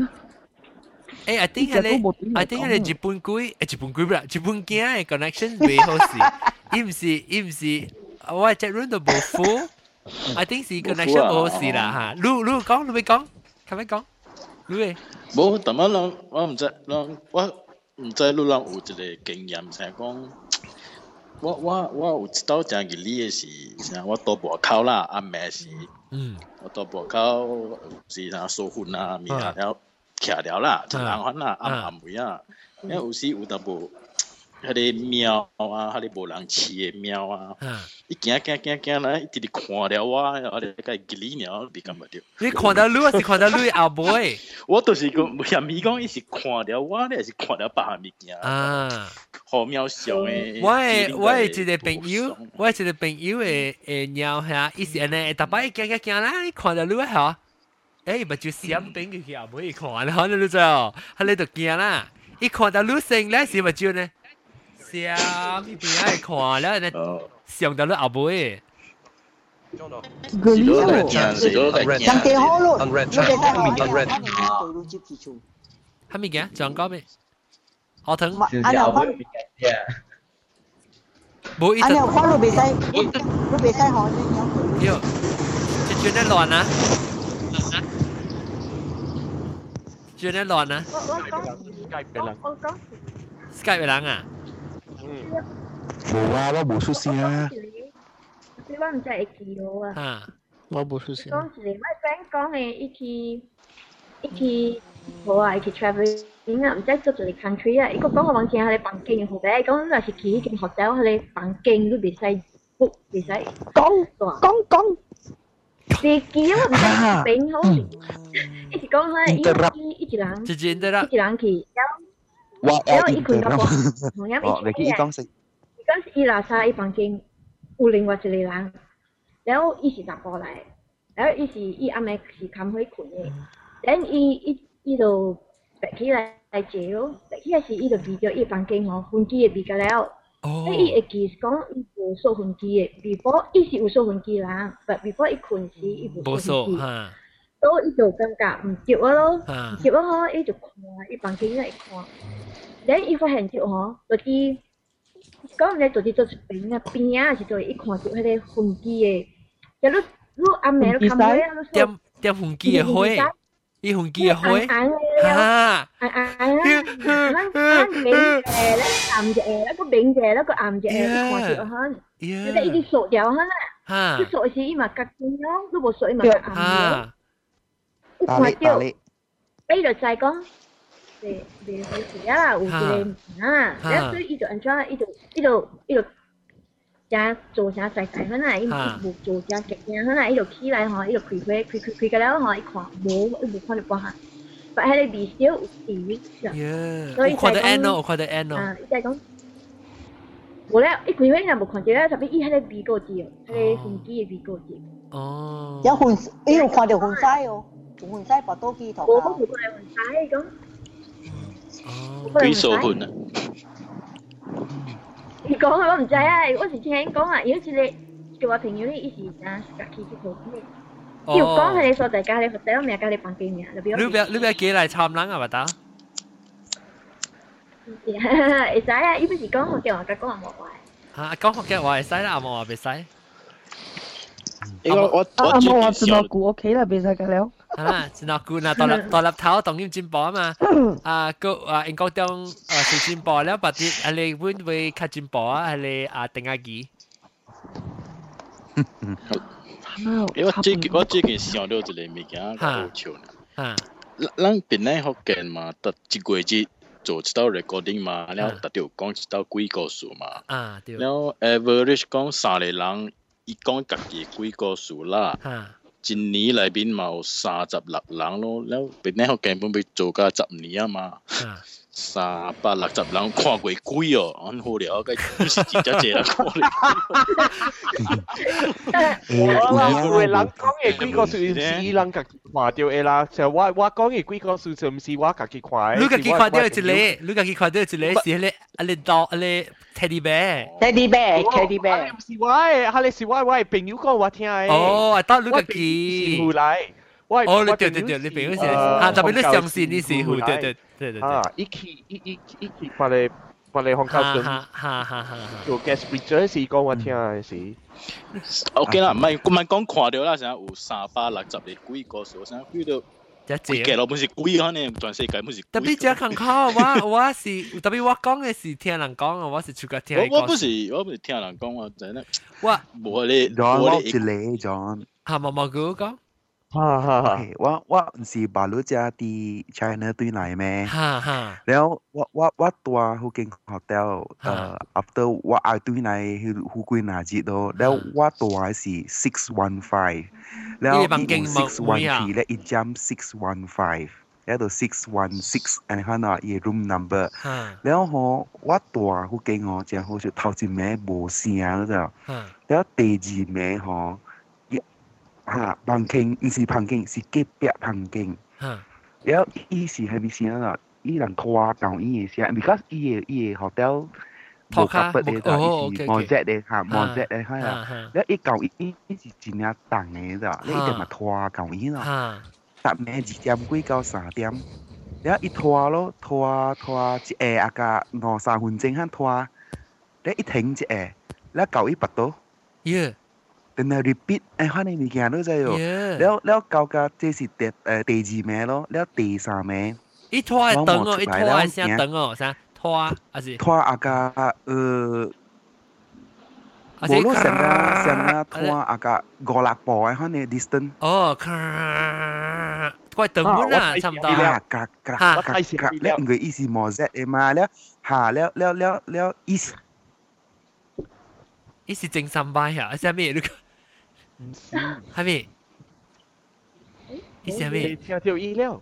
I think 係日本驚嘅 connection 未好時，伊唔是，我隻 room 都冇 full。I think 是 connection 冇好事啦嚇。你講，你咪講，係咪講？你冇，但係我唔知，我唔知你有一個經驗，就係講，我有知道這樣嘅理嘅是，我到外口啦，阿妹是，我到外口是那收婚啊，面下了徛了啦，就人番啦，阿妹啊，因為有時有淡薄。迄個貓啊，迄個無人飼嘅貓啊，伊行啦，伊直直看了我哋個吉利鳥，你感覺到？ 你看到你，還是看到你後背？ 我就是講，嫌伊講伊是看了我，你還是看了別項物件啊？好渺小誒！ 我係一個朋友嘅鳥嚇，伊是安尼，逐擺行啦，伊看到你嚇，誒，咪就閃邊佢後背看啦，你知哦？佢你就驚啦，伊看到你成咧是咪就呢？想一邊喺看了，呢想到你後背。 個理由， 人哋好咯，我哋係咪嘅？仲講咩？河豚。 阿牛翻， 冇一。 阿牛翻路未使，路未使河呢？ 喲，轉得亂啊！轉得亂啊 ！Skype 嘅人啊！ 冇啊，我冇出聲啊。 我唔知會記到啊。 我冇出聲。 講一個，我 friend 講嘅，一去，冇啊，一去 travelling 啊，唔知做一個 country 啊。伊個講我往前喺你房間好歹，講若是去迄間 hotel 喺你房間都袂使 book， 袂使講。未記啊，唔知邊好。一直講咧，一人去。然後伊群個同樣一起嘅，嗰時伊拉沙伊房間有另外一個人，然後伊是查甫來，然後伊暗暝是冚去困嘅，然後伊就爬起來坐咯，爬起來時伊就記着伊房間吼分機嘅比較了，所以伊會記講伊無數分機嘅 ，before 伊是有數分機人 ，but before 伊困時伊無數分機。所以伊就感覺唔接我咯，唔接我吼，伊就看伊房間嚟看。然後伊發現咗吼，就是講你就是做一邊啊，是做伊看到迄個分機嘅，就你暗暝你看到啊， 點分機嘅花，伊分機嘅花， 啊，明嘅，你暗嘅，一個明嘅，一個暗嘅，你看到嚇，你哋一直數掉嚇啦， 你所是伊嘛甲金咯，你无所以嘛甲暗咯。有看到，伊就在讲，袂回事啊，有一个啊，然后所以伊就安怎，伊就正做啥在在迄呐，伊无做正极正迄呐，伊就起来吼，伊就开个了吼，伊看无看到半下，但迄个微笑有字， 所以看到 N 咯，看到 N 咯。 伊在讲。无咧，伊开会若无看到咧，特别伊迄个鼻高字哦，迄个飞机嘅鼻高字。 哦。 有粉，伊有看到粉腮哦，有粉腮拔刀機頭。 我冇看到粉腮咁。 哦。幾數粉啊？ 伊講我唔知啊，我是聽講啊，有一個叫我朋友咧，伊是家己去做咩？伊有講係你所在家己 hotel 名，家己房間名，你不要寄嚟參人啊，咪得？ 會使啊！伊不是講福建話，甲講冇話。 嚇，講福建話會使啦，阿冇話袂使。 我冇話真係估 OK 啦，袂使㗎了。 係啦，真係估嗱，大粒頭當然進步啊嘛。英國中是進步了，但係係你會唔會較進步啊？係你定下機。 我最近想到一個物件好笑呢。咱本來福建嘛，得一個月。做一道 recording 嘛，然後特別講一道幾個數嘛，然後 average 講3個人，伊講家己幾個數啦，一年內邊嘛有36人咯，然後本來我根本要做到10年啊嘛，360人看過幾哦，很好了，該不是真正濟人看了。 有個人講嘅幾個數是伊人家己看到嘅啦，就我講嘅幾個數就唔是我家己看。 你家己看到一個，你家己看到一個是迄個teddy bear。teddy bear。 唔是我嘅，係你是我嘅朋友講我聽嘅。 哦，得你家己。 是來。 哦，你對，你朋友是啊，特別你相信你是對。 啊，一起把你紅口樽做 guest speaker 是講我聽嘅是。 OK 啦，唔係講看到啦，成有360個幾個數，成幾到。幾個老本是幾可能全世界本是。 特別只看考，我是特別我講嘅是聽人講啊，我是出個聽。 我不是聽人講啊，真係。 我冇你。 我一嚟咗。 嚇毛哥講。 我唔是巴魯家啲 China 對嚟咩？แล้ว我ตัวเขาเก่งฮอเทลafter ว่าไอ้對嚟เขาคุยนาจิโดแล้วว่าตัว是615แล้วอี614และอีจัม615แล้วตัว616อันนี้เขาเนาะอี room number แล้วเขาว่าตัวเขาเก่งเขาจะเขาจะ頭前名冇聲咗แล้ว第二名เขาพังเก่งไม่ใช่พังเก่ง是隔壁พังเก่งแล้วอี是係咪先啊？อี人拖到伊嘅先 ，because 伊嘅 hotel 冇夾筆嘅就係毛質嘅嚇，毛質嘅係啊。แล้วอี舊伊是真係重嘅咋，你一定咪拖舊伊咯。搭咩2點幾到3點，แล้ว一拖咯，拖一下啊個2-3分鐘肯拖，แล้ว一停一下，แล้ว舊伊拔到。但係 repeat 可能物件都在喎，แล้ว舊個這是第2名咯，แล้ว第3名。 一拖係等哦，一拖係先等哦，啥拖還是？ 拖啊個無路成啊拖啊個5-6步嘅可能 distance。 哦，快等滿啦，差唔多。 แล้ว佢意思冇啫，嘛แล้ว意思。 意思正三百呀？係咩？唔是，係咩？意思係咩？ 聽到意料。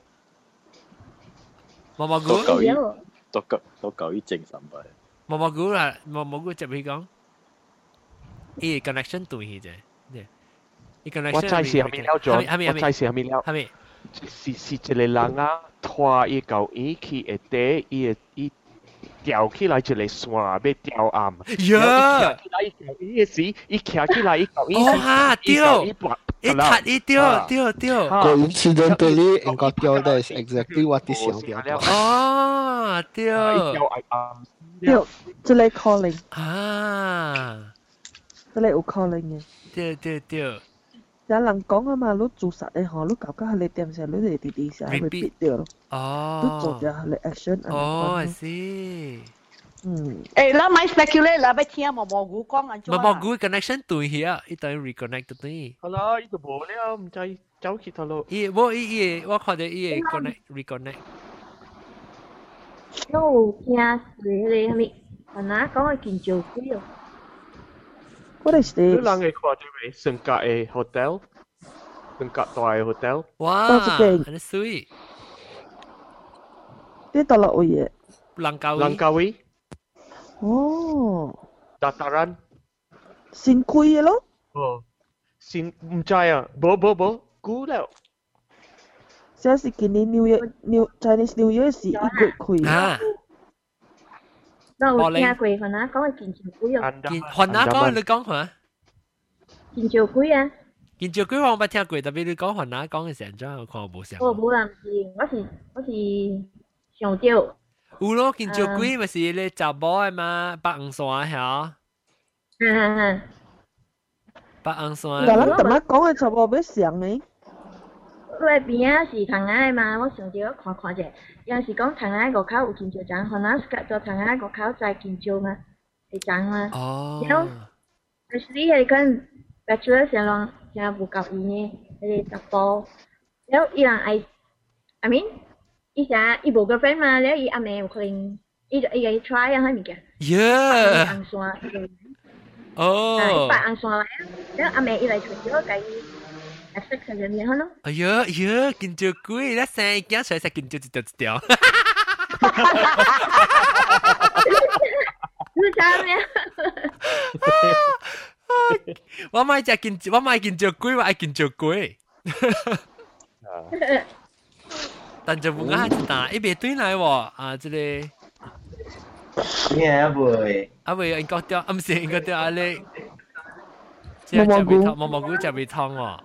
毛菇都夠於正三百。 毛菇啦，毛菇接去講，伊 connection 對去啫，伊 connection。 我知是係咪了咗？我知是係咪了？ 係咪？ 是一個人啊，拖伊舊伊去下底，伊吊起來一個線要吊暗。 呀！ 伊時伊徛起來伊舊伊。 哦哈，吊！一掉。 Coincidentally, engkau掉的is exactly what is 想掉的。 哦，掉。 掉，這裡 calling。 啊。 這裡有 calling 嘅。 掉。 有人講啊嘛，你做實嘅嗬，你搞搞你點先，你哋啲時 repeat 掉咯。 哦。 你做咗你 action。 哦，I see。 咱咪 speculate 啦，要聽毛毛菇講安怎？ 毛毛菇 connection 對呀，一等 reconnect 對。 好啦，呢度冇了，唔知走去頭路。 我看到伊個 reconnect。 我有聽誰個咩？我哪講嘅建造鬼哦？ 我哋是。 你人會看到未？上格嘅 hotel，上格大嘅 hotel。 哇，很水。 呢度落位嘅。 Langkawi。 哦。 Dataran。 新開嘅咯。 哦。新唔知啊，冇，估了。 這是今年Chinese New Year 是1月開啊。 我有聽過，雲南講嘅建造鬼哦。 雲南講你講下。 建造鬼啊！ 建造鬼我冇聽過，特別你講雲南講嘅時陣，我看我冇想。 我冇啦，我是上吊。 有咯，建造鬼咪是你查某嘅嘛，白紅山嚇。白紅山。 但係咱咁講嘅差不多要上呢？ 我邊啊是藤崖嘛，我上吊看者，有時講藤崖個口有建造章，可能是做藤崖個口在建造嘛，係章嘛。 哦。 然後 ，actually 係講 bachelor 上浪上唔夠意嘅，係十步。然後伊人I mean， 伊成伊無 girlfriend 嘛，然後伊阿妹有可能伊個 try 啊迄物件。 Yeah。 紅線。 哦。 白紅線來，然後阿妹伊來傳咗佢。識佢嘅嘢咯。 哎呀，建造鬼，你成日驚出嚟食建造一條。 你講咩？ 我買建造鬼，我愛建造鬼。但就唔啱一打，一邊對來喎啊！這裡。 咩啊？ 會應該掉，唔是應該掉啊你。毛毛菇就未燙喎。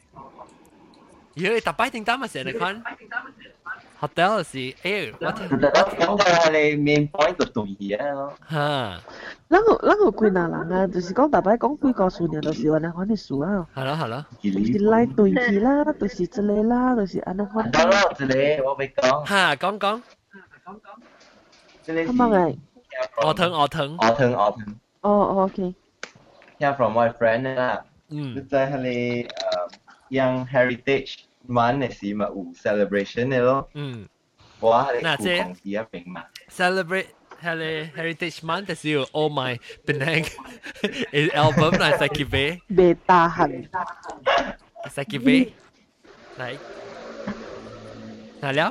咦，特擺定單咪成日看 hotel 是我講嘅你 main point 就對嘅咯。 嚇， 咱有幾哪人啊？就是講特擺講幾個數年，就是安尼款嘅數啊。 係咯。 就是來對起啦，就是這個啦，就是安尼款。 講啦，這裡我俾講。 嚇，講。 這裡是。 乜嘢？ 鵝藤。 哦 ，OK。 聽 from my friend 啦。即係佢yang heritage month 嘅時咪有 celebration 嘅咯。我係顧公司一邊嘛。 celebrate 係 heritage month 嘅時候 ，Oh my Penang album 嚟實結尾。 未打痕。 實結尾。嚟。嗱了。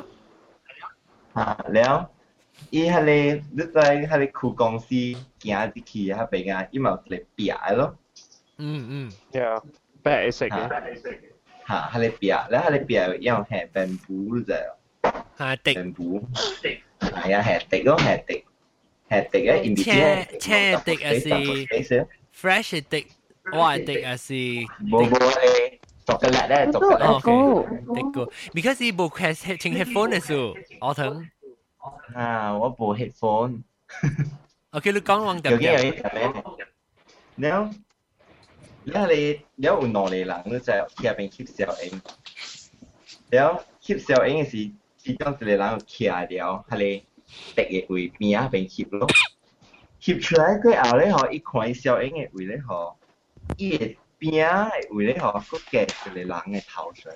了。伊係你在係顧公司行入去嗰邊啊，伊咪有一個壁嘅咯。 Yeah， 白色嘅。 嚇，係你壁，แล้ว係你壁要係 bamboo 啫。 係笛。 bamboo。係啊，係笛咯，係笛嘅 in between。 青笛係 fresh 嘅笛，white 笛係。 冇係chocolate咧 ，chocolate。because 伊冇開聽 headphone 嘅時候，我疼。 我冇 headphone。 OK， 你講往點點。 แล้ว你有兩個人咧就喺入邊翕小影，แล้ว翕小影嘅時，其中一個人企了，係你敵嘅位邊啊邊翕咯，翕出來佢後咧嗬，一看小影嘅位咧嗬，伊嘅邊啊嘅位咧嗬，個夾一個人嘅頭上，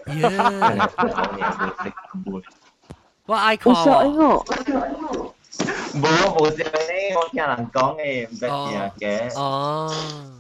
我愛看喎。 小影哦。 冇小影，我聽人講嘅，唔得聽嘅。 哦。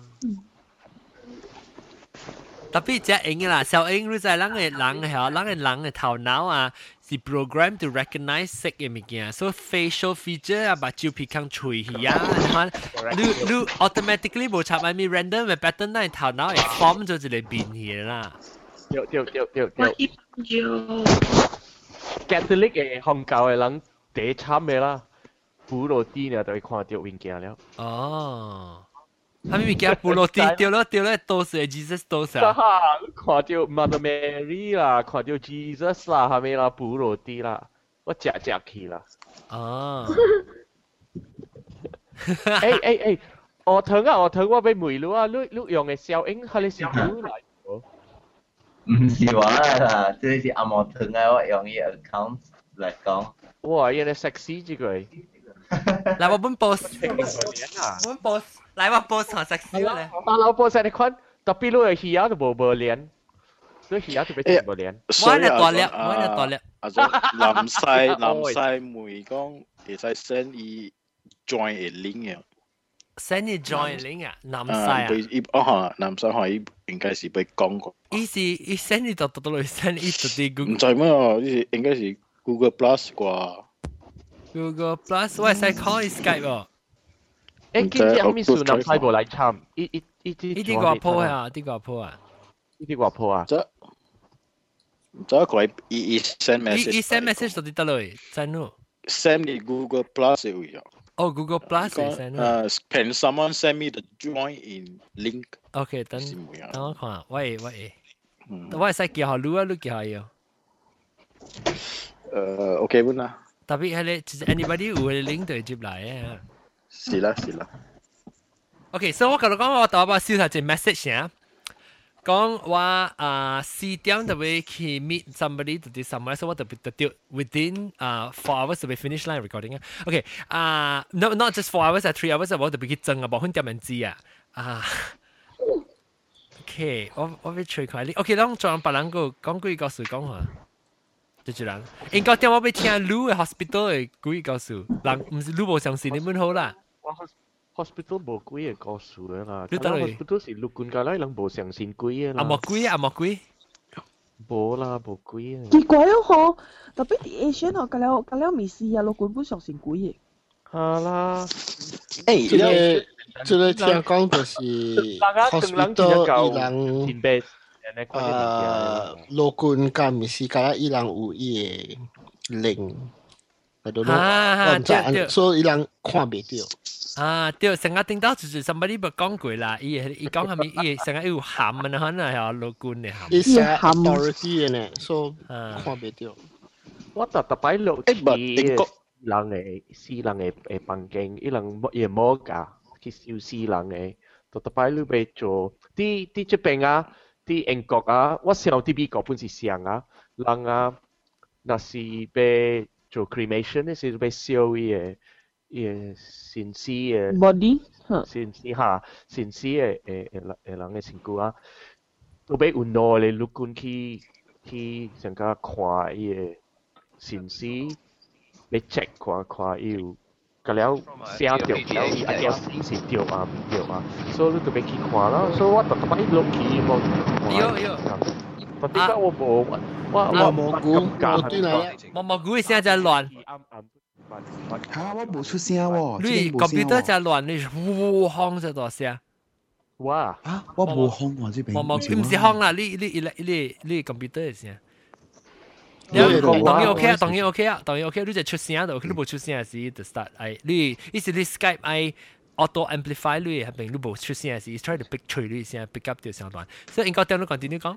特別只影啦，小影你知人嘅頭腦啊，是 program to recognize 色嘅物件，所以 facial feature 啊，目睭皮孔喙耳啊，你 automatically 無插埋咪 random 嘅 pattern，但係頭腦係 form 咗一個變嘢啦。 對。Catholic 嘅宗教嘅人第參嘅啦，普羅啲呢就會看到物件了。 哦。他們物件布落地掉了，都是 Jesus 都是。 看到 Mother Mary 啦，看到 Jesus 啦，係咪啦？布落地啦，我食去啦。 哦。 誒，鵝藤我俾梅了啊！你用嘅小影係你是古嚟喎？ 唔是話啦，即係阿鵝藤啊！我用呢 account 嚟講。 哇！有啲 sexy 之句。 来我本 post，本 post，来我 post 學食燒咧。 但我 post 你看，特別你係魚都無連，所以魚特別全部連。 我係大粒，我係大粒。 啊，南西妹講，會使 send 伊 join 嘅 link 啊。 send 伊 join link 啊，南西啊。南西可以應該是被講過。 伊 send 伊到嚟 send 伊到啲 Google。 唔知咩啊？呢應該是 Google Plus 啩。 Google Plus 我係使 call Skype 喎。 誒，今日後面數南西無嚟參， 呢啲個鋪啊，啲個鋪啊， 呢啲個鋪啊。 就佢伊 send message， 伊 send message 到啲得嚟，真咯。 send 你 Google Plus 會有。 哦 ，Google Plus 係 send。 Can someone send me the join in link？ OK，等我看，喂，我係使叫下錄啊，錄叫下要。 OK 本啦。 特別係你，就是 anybody 有嘅 link 就接來嘅。 是啦。 OK，所以我覺得講我大把燒下隻 message 啊，講我4點就會去 meet somebody to do somewhere，所以我特別就 within 4 hours 就會 finish line recording 啊。OK，not just 4 hours 3 hours 我特別去爭啊，冇分點樣知啊。OK，我會吹開你。OK，當做人別人講幾個事講下。就人，應該點我要聽 Lu 嘅 hospital 嘅幾個事，人唔是 Lu 無相信你們好啦。 hospital 無幾個事啦，你等嚟 hospital 是陸軍㗎啦，人無相信幾啦。 冇幾， 無啦，無幾啊。 奇怪咯嗬，特別啲 Asian 嗬，隔了未試啊，陸軍不相信幾嘅。 係啦， 這個聽講就是 hospital 伊人。陸軍甲毋是甲伊人有伊個靈，喺度咯，所以伊人看袂到。 對，成日聽到就是 somebody 冇講過啦，伊講係咪伊成日有鹹啊，可能係陸軍嘅鹹。 伊成 authority 嘅呢，所以看袂到。 我特擺落去人嘅私人嘅房間，伊人也冇㗎，去燒私人嘅，特擺落去做啲這邊啊。啲英國啊，我想啲美國本是像啊，人啊，那是被做 cremation 咧，是被燒伊嘅先死嘅 body， 先死嘅人嘅身軀啊，都被有耐咧，陸軍去上加看伊嘅先死，被 check 看伊有。咁了寫掉，了伊阿條是掉啊，所以你特別去看啦。所以我特別落去冇。 有。 但點解我冇？ 我蘑菇嘅聲就亂。 嚇！我冇出聲喎。 你 computer 就亂，你呼轟就大聲。 哇！ 啊！我冇轟喎，這邊。 蘑菇唔是轟啦，你 computer 嘅聲。當然 OK 啊，你就出聲就，你冇出聲時就 start 你是 Skype auto amplify 你係並你冇出聲時 try to pick 除你聲 pick up 條聲段，所以應該點樣 continue 講？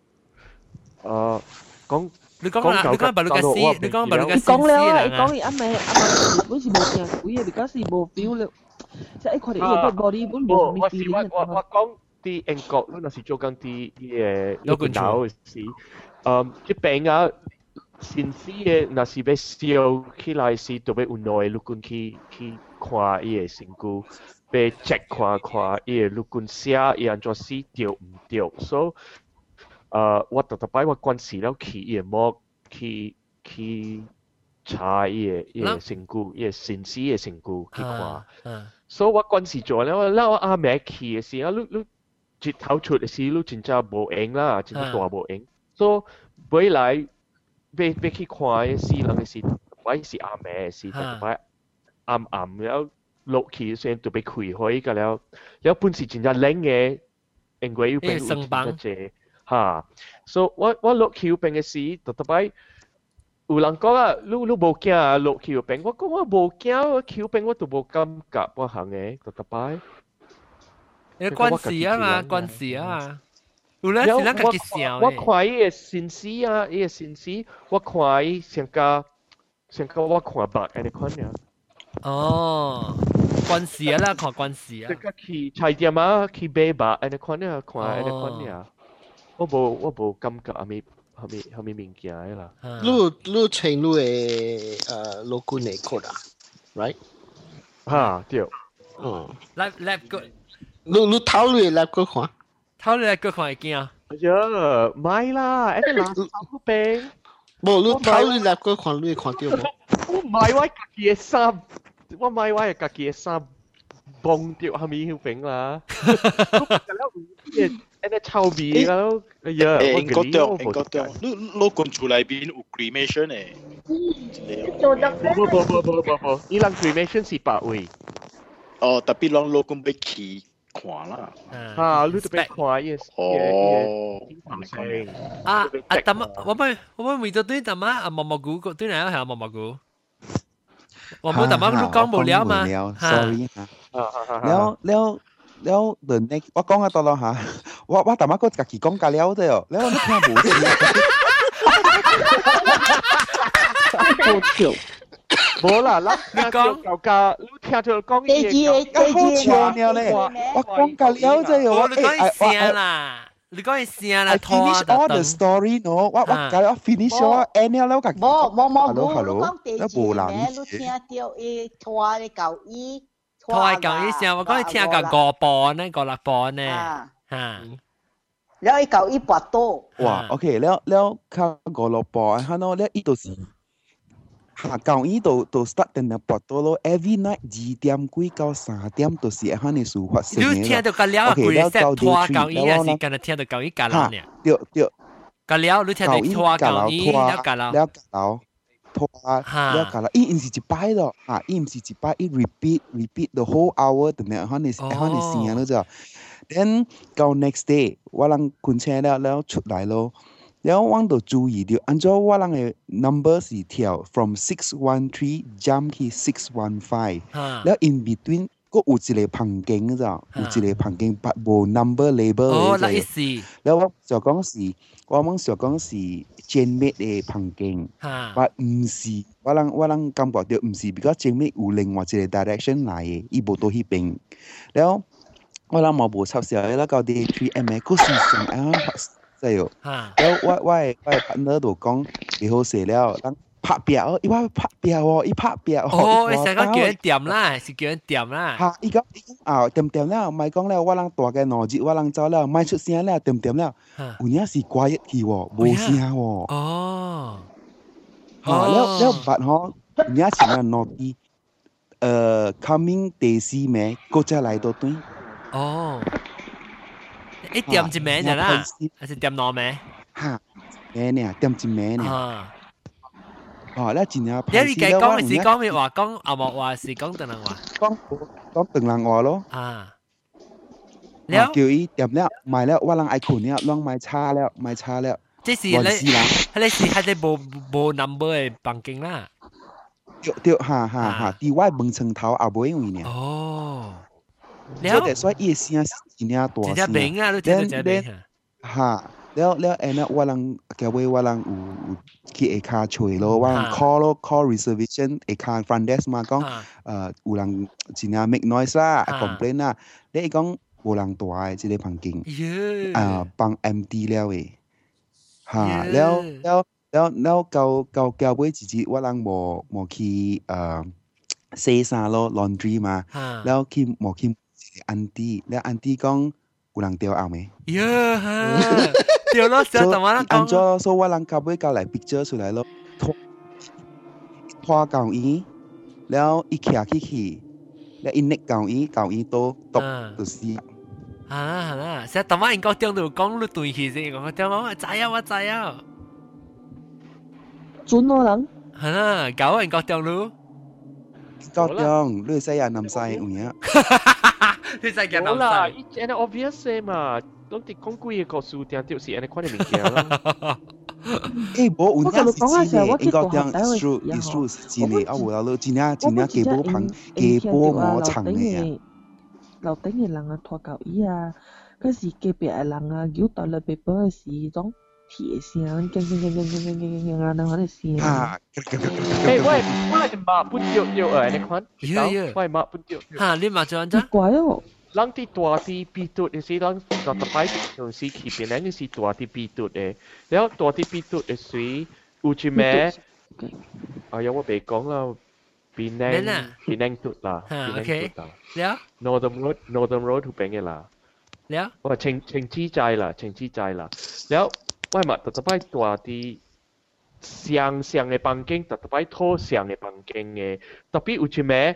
你講白你嘅詩，你講白你嘅詩啦。講你阿妹本是冇聲鬼嘅，而家是冇 feel 了，即係佢哋呢個 body 本冇咩 feeling。 我講啲英國，你那是做緊啲陸軍島嘅事，啲病啊。先死嘅，若是要燒起來時，就要有耐陸軍去看伊個身軀，要 check 看伊個陸軍寫伊安怎死對唔對。所以，我特擺我關係了去伊個幕去查伊個身軀，伊個先死個身軀去看。所以我關係做了，我阿妹去嘅時候，你日頭出嘅時，你真正無用啦，真正大無用。所以未來。要去看嘅事，人嘅事，或者是阿妹嘅事，特別暗了落去先就被開開個了，了本是真正冷嘅，因為要變有真正濟嚇，所以我落去變嘅事，特別有人講啊，你無驚啊落去變，我講我無驚，我去變我都無感覺，我行嘅，特別。 你關係啊嘛，關係啊嘛。有陣時咱家己笑我看伊個先死啊，伊個先死，我看伊上加我看白安尼款呀。 哦，關係啊啦，看關係啊。 即刻去菜店啊，去買白安尼款呀，看安尼款呀。我無感覺後面物件啦。 你穿你個陸軍嘅 code 啊 ，right？ 哈對， lab 個， 你頭你 lab 個看， 頭你 lab 個看會驚啊？ 哎呀，唔係啦，一個垃圾好病。 冇你頭你 lab 個看，你看到冇？ 我唔係我家己嘅衫，我唔係我家己嘅衫，崩掉下面好病啦。誒，臭味啦，哎呀， 英國掉，你講出來邊有 cremation 誒？ 不，伊人 cremation 是8位。 哦，特別讓老公要去看啦。 啊，你特別看伊。 哦。 但係我們為咗對但係啊毛毛菇對哪樣係毛毛菇？我冇但係你講無聊嘛 ？Sorry 嚇。แล้วเดินในว่าก้องตลอดฮะว่าแต่มาก็กักกี่ก้องกันแล้วเด้อแล้วนี่แค่หมูเด้อ冇啦，你講舊價，你聽到講嘢好笑呢咧，我講กันแล้วเด้อ我你講係聲啦，你講係聲啦， I finish all the story เนาะว่ากันแล้ว finish all end แล้วกัก Hello แล้ว冇人你聽到伊拖嘅舊衣。 拖舊衣聲，我講你聽個5磅呢，5、6磅呢，嚇。 แล้วไอ้เก่าอีปวดโตว้าโอเคแล้วข้า5、6磅ฮะเนาะแล้วอีตัวสิหาเก่าอีตัว start ตั้งแต่ปวดโตแล้ว every night 2點幾到3點ตัวสิฮะในสู่發生嘅。 你聽到個了幾隻拖舊衣啊？是今日聽到舊衣隔樓呢？ 對。 個了你聽到拖舊衣了隔樓。 了隔樓。拖แล้วกันละอี唔是一擺咯嚇，อี唔是一擺，อี repeat the whole hour 等下喺你先咯จ้ะ then 到 next day 我諗ขึ้น車แล้ว出嚟咯แล้ว我ต้อง注意到按照我諗嘅 number 是跳 from 613 jump 去615แล้ว in between ก็有一個棚徑จ้ะ有一個棚徑but 冇 number label 嘅แล้ว我就講是我們就講是Genmate 嘅棚徑但唔是我諗感覺到唔是because Genmate 有另外一個 direction 嚟嘅伊冇到迄邊แล้ว我諗我冇插時候แล้ว到啲 3M 個是上啱ใช่喎แล้ว我 partner 度講幾好勢แล้ว拍表，伊話拍表哦，伊拍表哦，你成個叫人掂啦，是叫人掂啦。 嚇，伊講啊，掂了，唔係講了，我人大嘅腦子，我人走了，唔出聲了，掂了，有影是quiet去喎，冇聲喎。 哦。 嚇，แล้วบัด嗬，有影是咩腦子？coming 第4名，嗰隻嚟到對。 哦。一掂一名就啦，還是掂兩名？ 嚇，名呢？掂一名呢？哦，แล้ว真係你嘅講是講咩話？講阿莫話是講鄧人話。 講鄧人話咯。 啊。 แล้ว叫伊掂了，賣了，我人愛困了，攏賣差了。 即是你是係你無 number 嘅房間啦。 對，嚇，啲我門窗頭也冇因為呢。 哦。 所以伊聲是真係大聲。 真係明啊，你聽到真係明啊。嚇。แล้วแอนน่ะว่าลังแกเว้ยว่าลังที่เอคาช่วย咯ว่าลัง call reservation เอคา front desk มาก็อูลังจีน่า make noise ล่ะ complain ล่ะแล้วอีกก็อูลังตัวไอ้ที่ได้พังกิ่งปัง empty แล้วเว้ยฮะแล้วเกาเว้ยจีว่าลังหมอคีเซซ่า咯 laundry มาแล้วคีหมอคีอันตี้แล้วอันตี้ก็有人掉後未？ 掉咯，成日同我講。 按咗，所以我人夾尾夾嚟 picture 出嚟咯，拖舊衣，แล้วอีเขียขี้แล้วอีเน็กเก่าอีโตตบตัวสี啦，成日同我人講掉到講你對起先，我掉我知啊。 準我人。 係啦，搞人講掉你。 講掉，你西人南西有嘢。 你真係冇啦，依啲 obvious 嘛，當啲講幾個數點掉是安尼款嘅物件啦。 誒，冇，有啲是真嘅，應該講 is true 是真嘅，啊，有啦，真係幾波我層嘅。 樓頂嘅人啊，拖舊衣啊，嗰時隔壁嘅人啊，搖到嚟背包嘅時種鐵聲，勁啊，等我哋聲。 誒，喂，馬本掉安尼款，喂馬本掉。 嚇，你馬做安怎？ 怪哦。 人啲大啲鼻嘟嘅時，人就擺住時起邊，人係大啲鼻嘟嘅，然後大啲鼻嘟嘅水有一咩？哎呀，我別講啦， Penang สุดล่ะ OK แล้ว Northern Road ถูกเป็นไงล่ะแล้วว่าเชงจี้ใจล่ะแล้วว่ามาแต่ไปตัวที่上嘅房間，特別拖上嘅房間嘅，特別有啲咩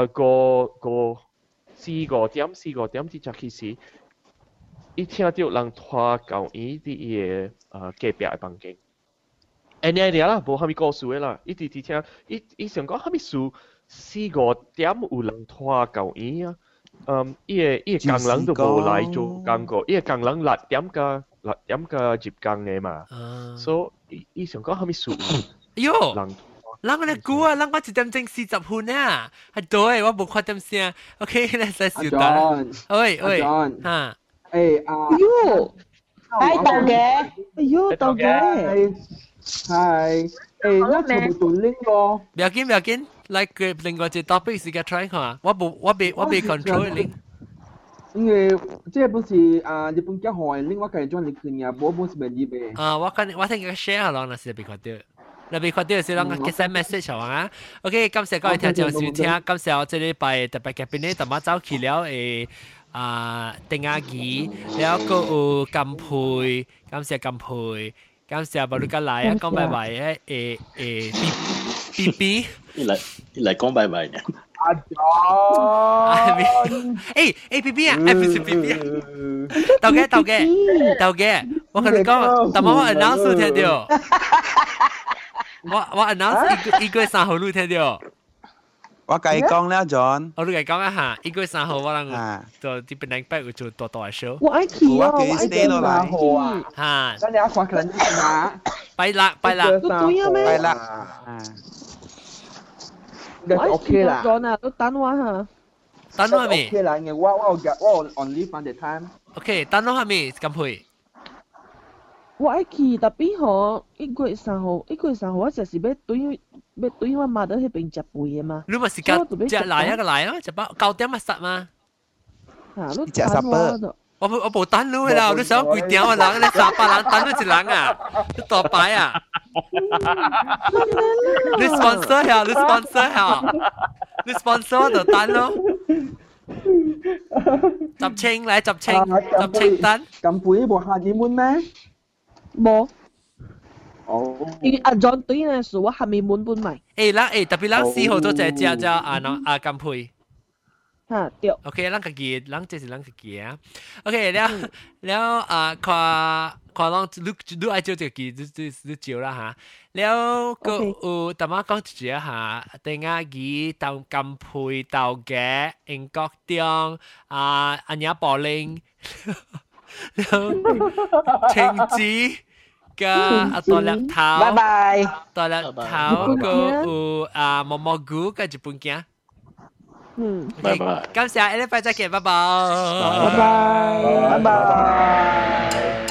四五點至其實，一聽到人拖到伊啲隔壁嘅房間，啲啦，無蝦米故事嘅啦，一直聽，伊想講蝦米事，四五點有人拖到伊啊，伊個工人都無來做工過，伊個工人6點嘅接工嘅嘛，所以伊想講蝦米事。 喲，人我哋估啊，人我1點鐘40分啊，係對，我冇看點聲 ，OK， 你再少等。喂，嚇， 喲， 喺度嘅， 喲，到嘅，係，那全部做拎咯。 唔要緊，嚟佢另外一 topic 時間 try 下，我被 control 拎。 因為這不是日本交換，另外嘅裝你佢呀，冇是便宜嘅。 我聽佢 share 下咯，那是被看到。你被看到是啷個 send message 好啊 ？OK， 感謝各位聽眾收聽，感謝我這禮拜特別嘉賓呢，同我走去了丁亞儀，แล้วก็金培，感謝金培，感謝巴魯加來啊，講拜拜BB， 你嚟講拜拜嘅。 阿 John， BB 啊，唔是 BB 啊，豆嘅，我同你講，但我 announce 聽到。我 announce 1月3號你聽到？ 我計講啦 ，John。 我都計講一下，1月3號我能做啲本嚟會做大 show。 我愛去啊，我愛去3號啊。 咱倆看可能啊。 拜六。 對啊咩？ 拜六。 我 OK 啦。John 啊，都等我嚇。 等我未 ？OK 啦，我 on leave on the time。 OK， 等我未？咁配。 我愛去，特別吼1月3號，我就是要對我媽到迄邊食飯嘅嘛。 你咪時間只來一個來啊，就把9點咪實嘛。 嚇，你等我。 我冇等你啦，你想幾點啊？人你300人等你一人啊，你多擺啊！你 sponsor 就等咯。集清等。 咁背部下點滿咩？冇。哦。阿 John 對呢是我還沒滿本埋。 特別4號都只阿金培。 嚇對。 OK， 這是自己啊。OK， แล้ว看你愛照這個你照啦嚇。แล้วก็แต่มา講一下定亞儀到金培到嘅英國中安雅柏林，แล้ว青子嘅多粒頭， 拜拜， 多粒頭個毛毛菇嘅日本鏡。 拜拜。 感謝，下禮拜再見，拜拜。 拜拜。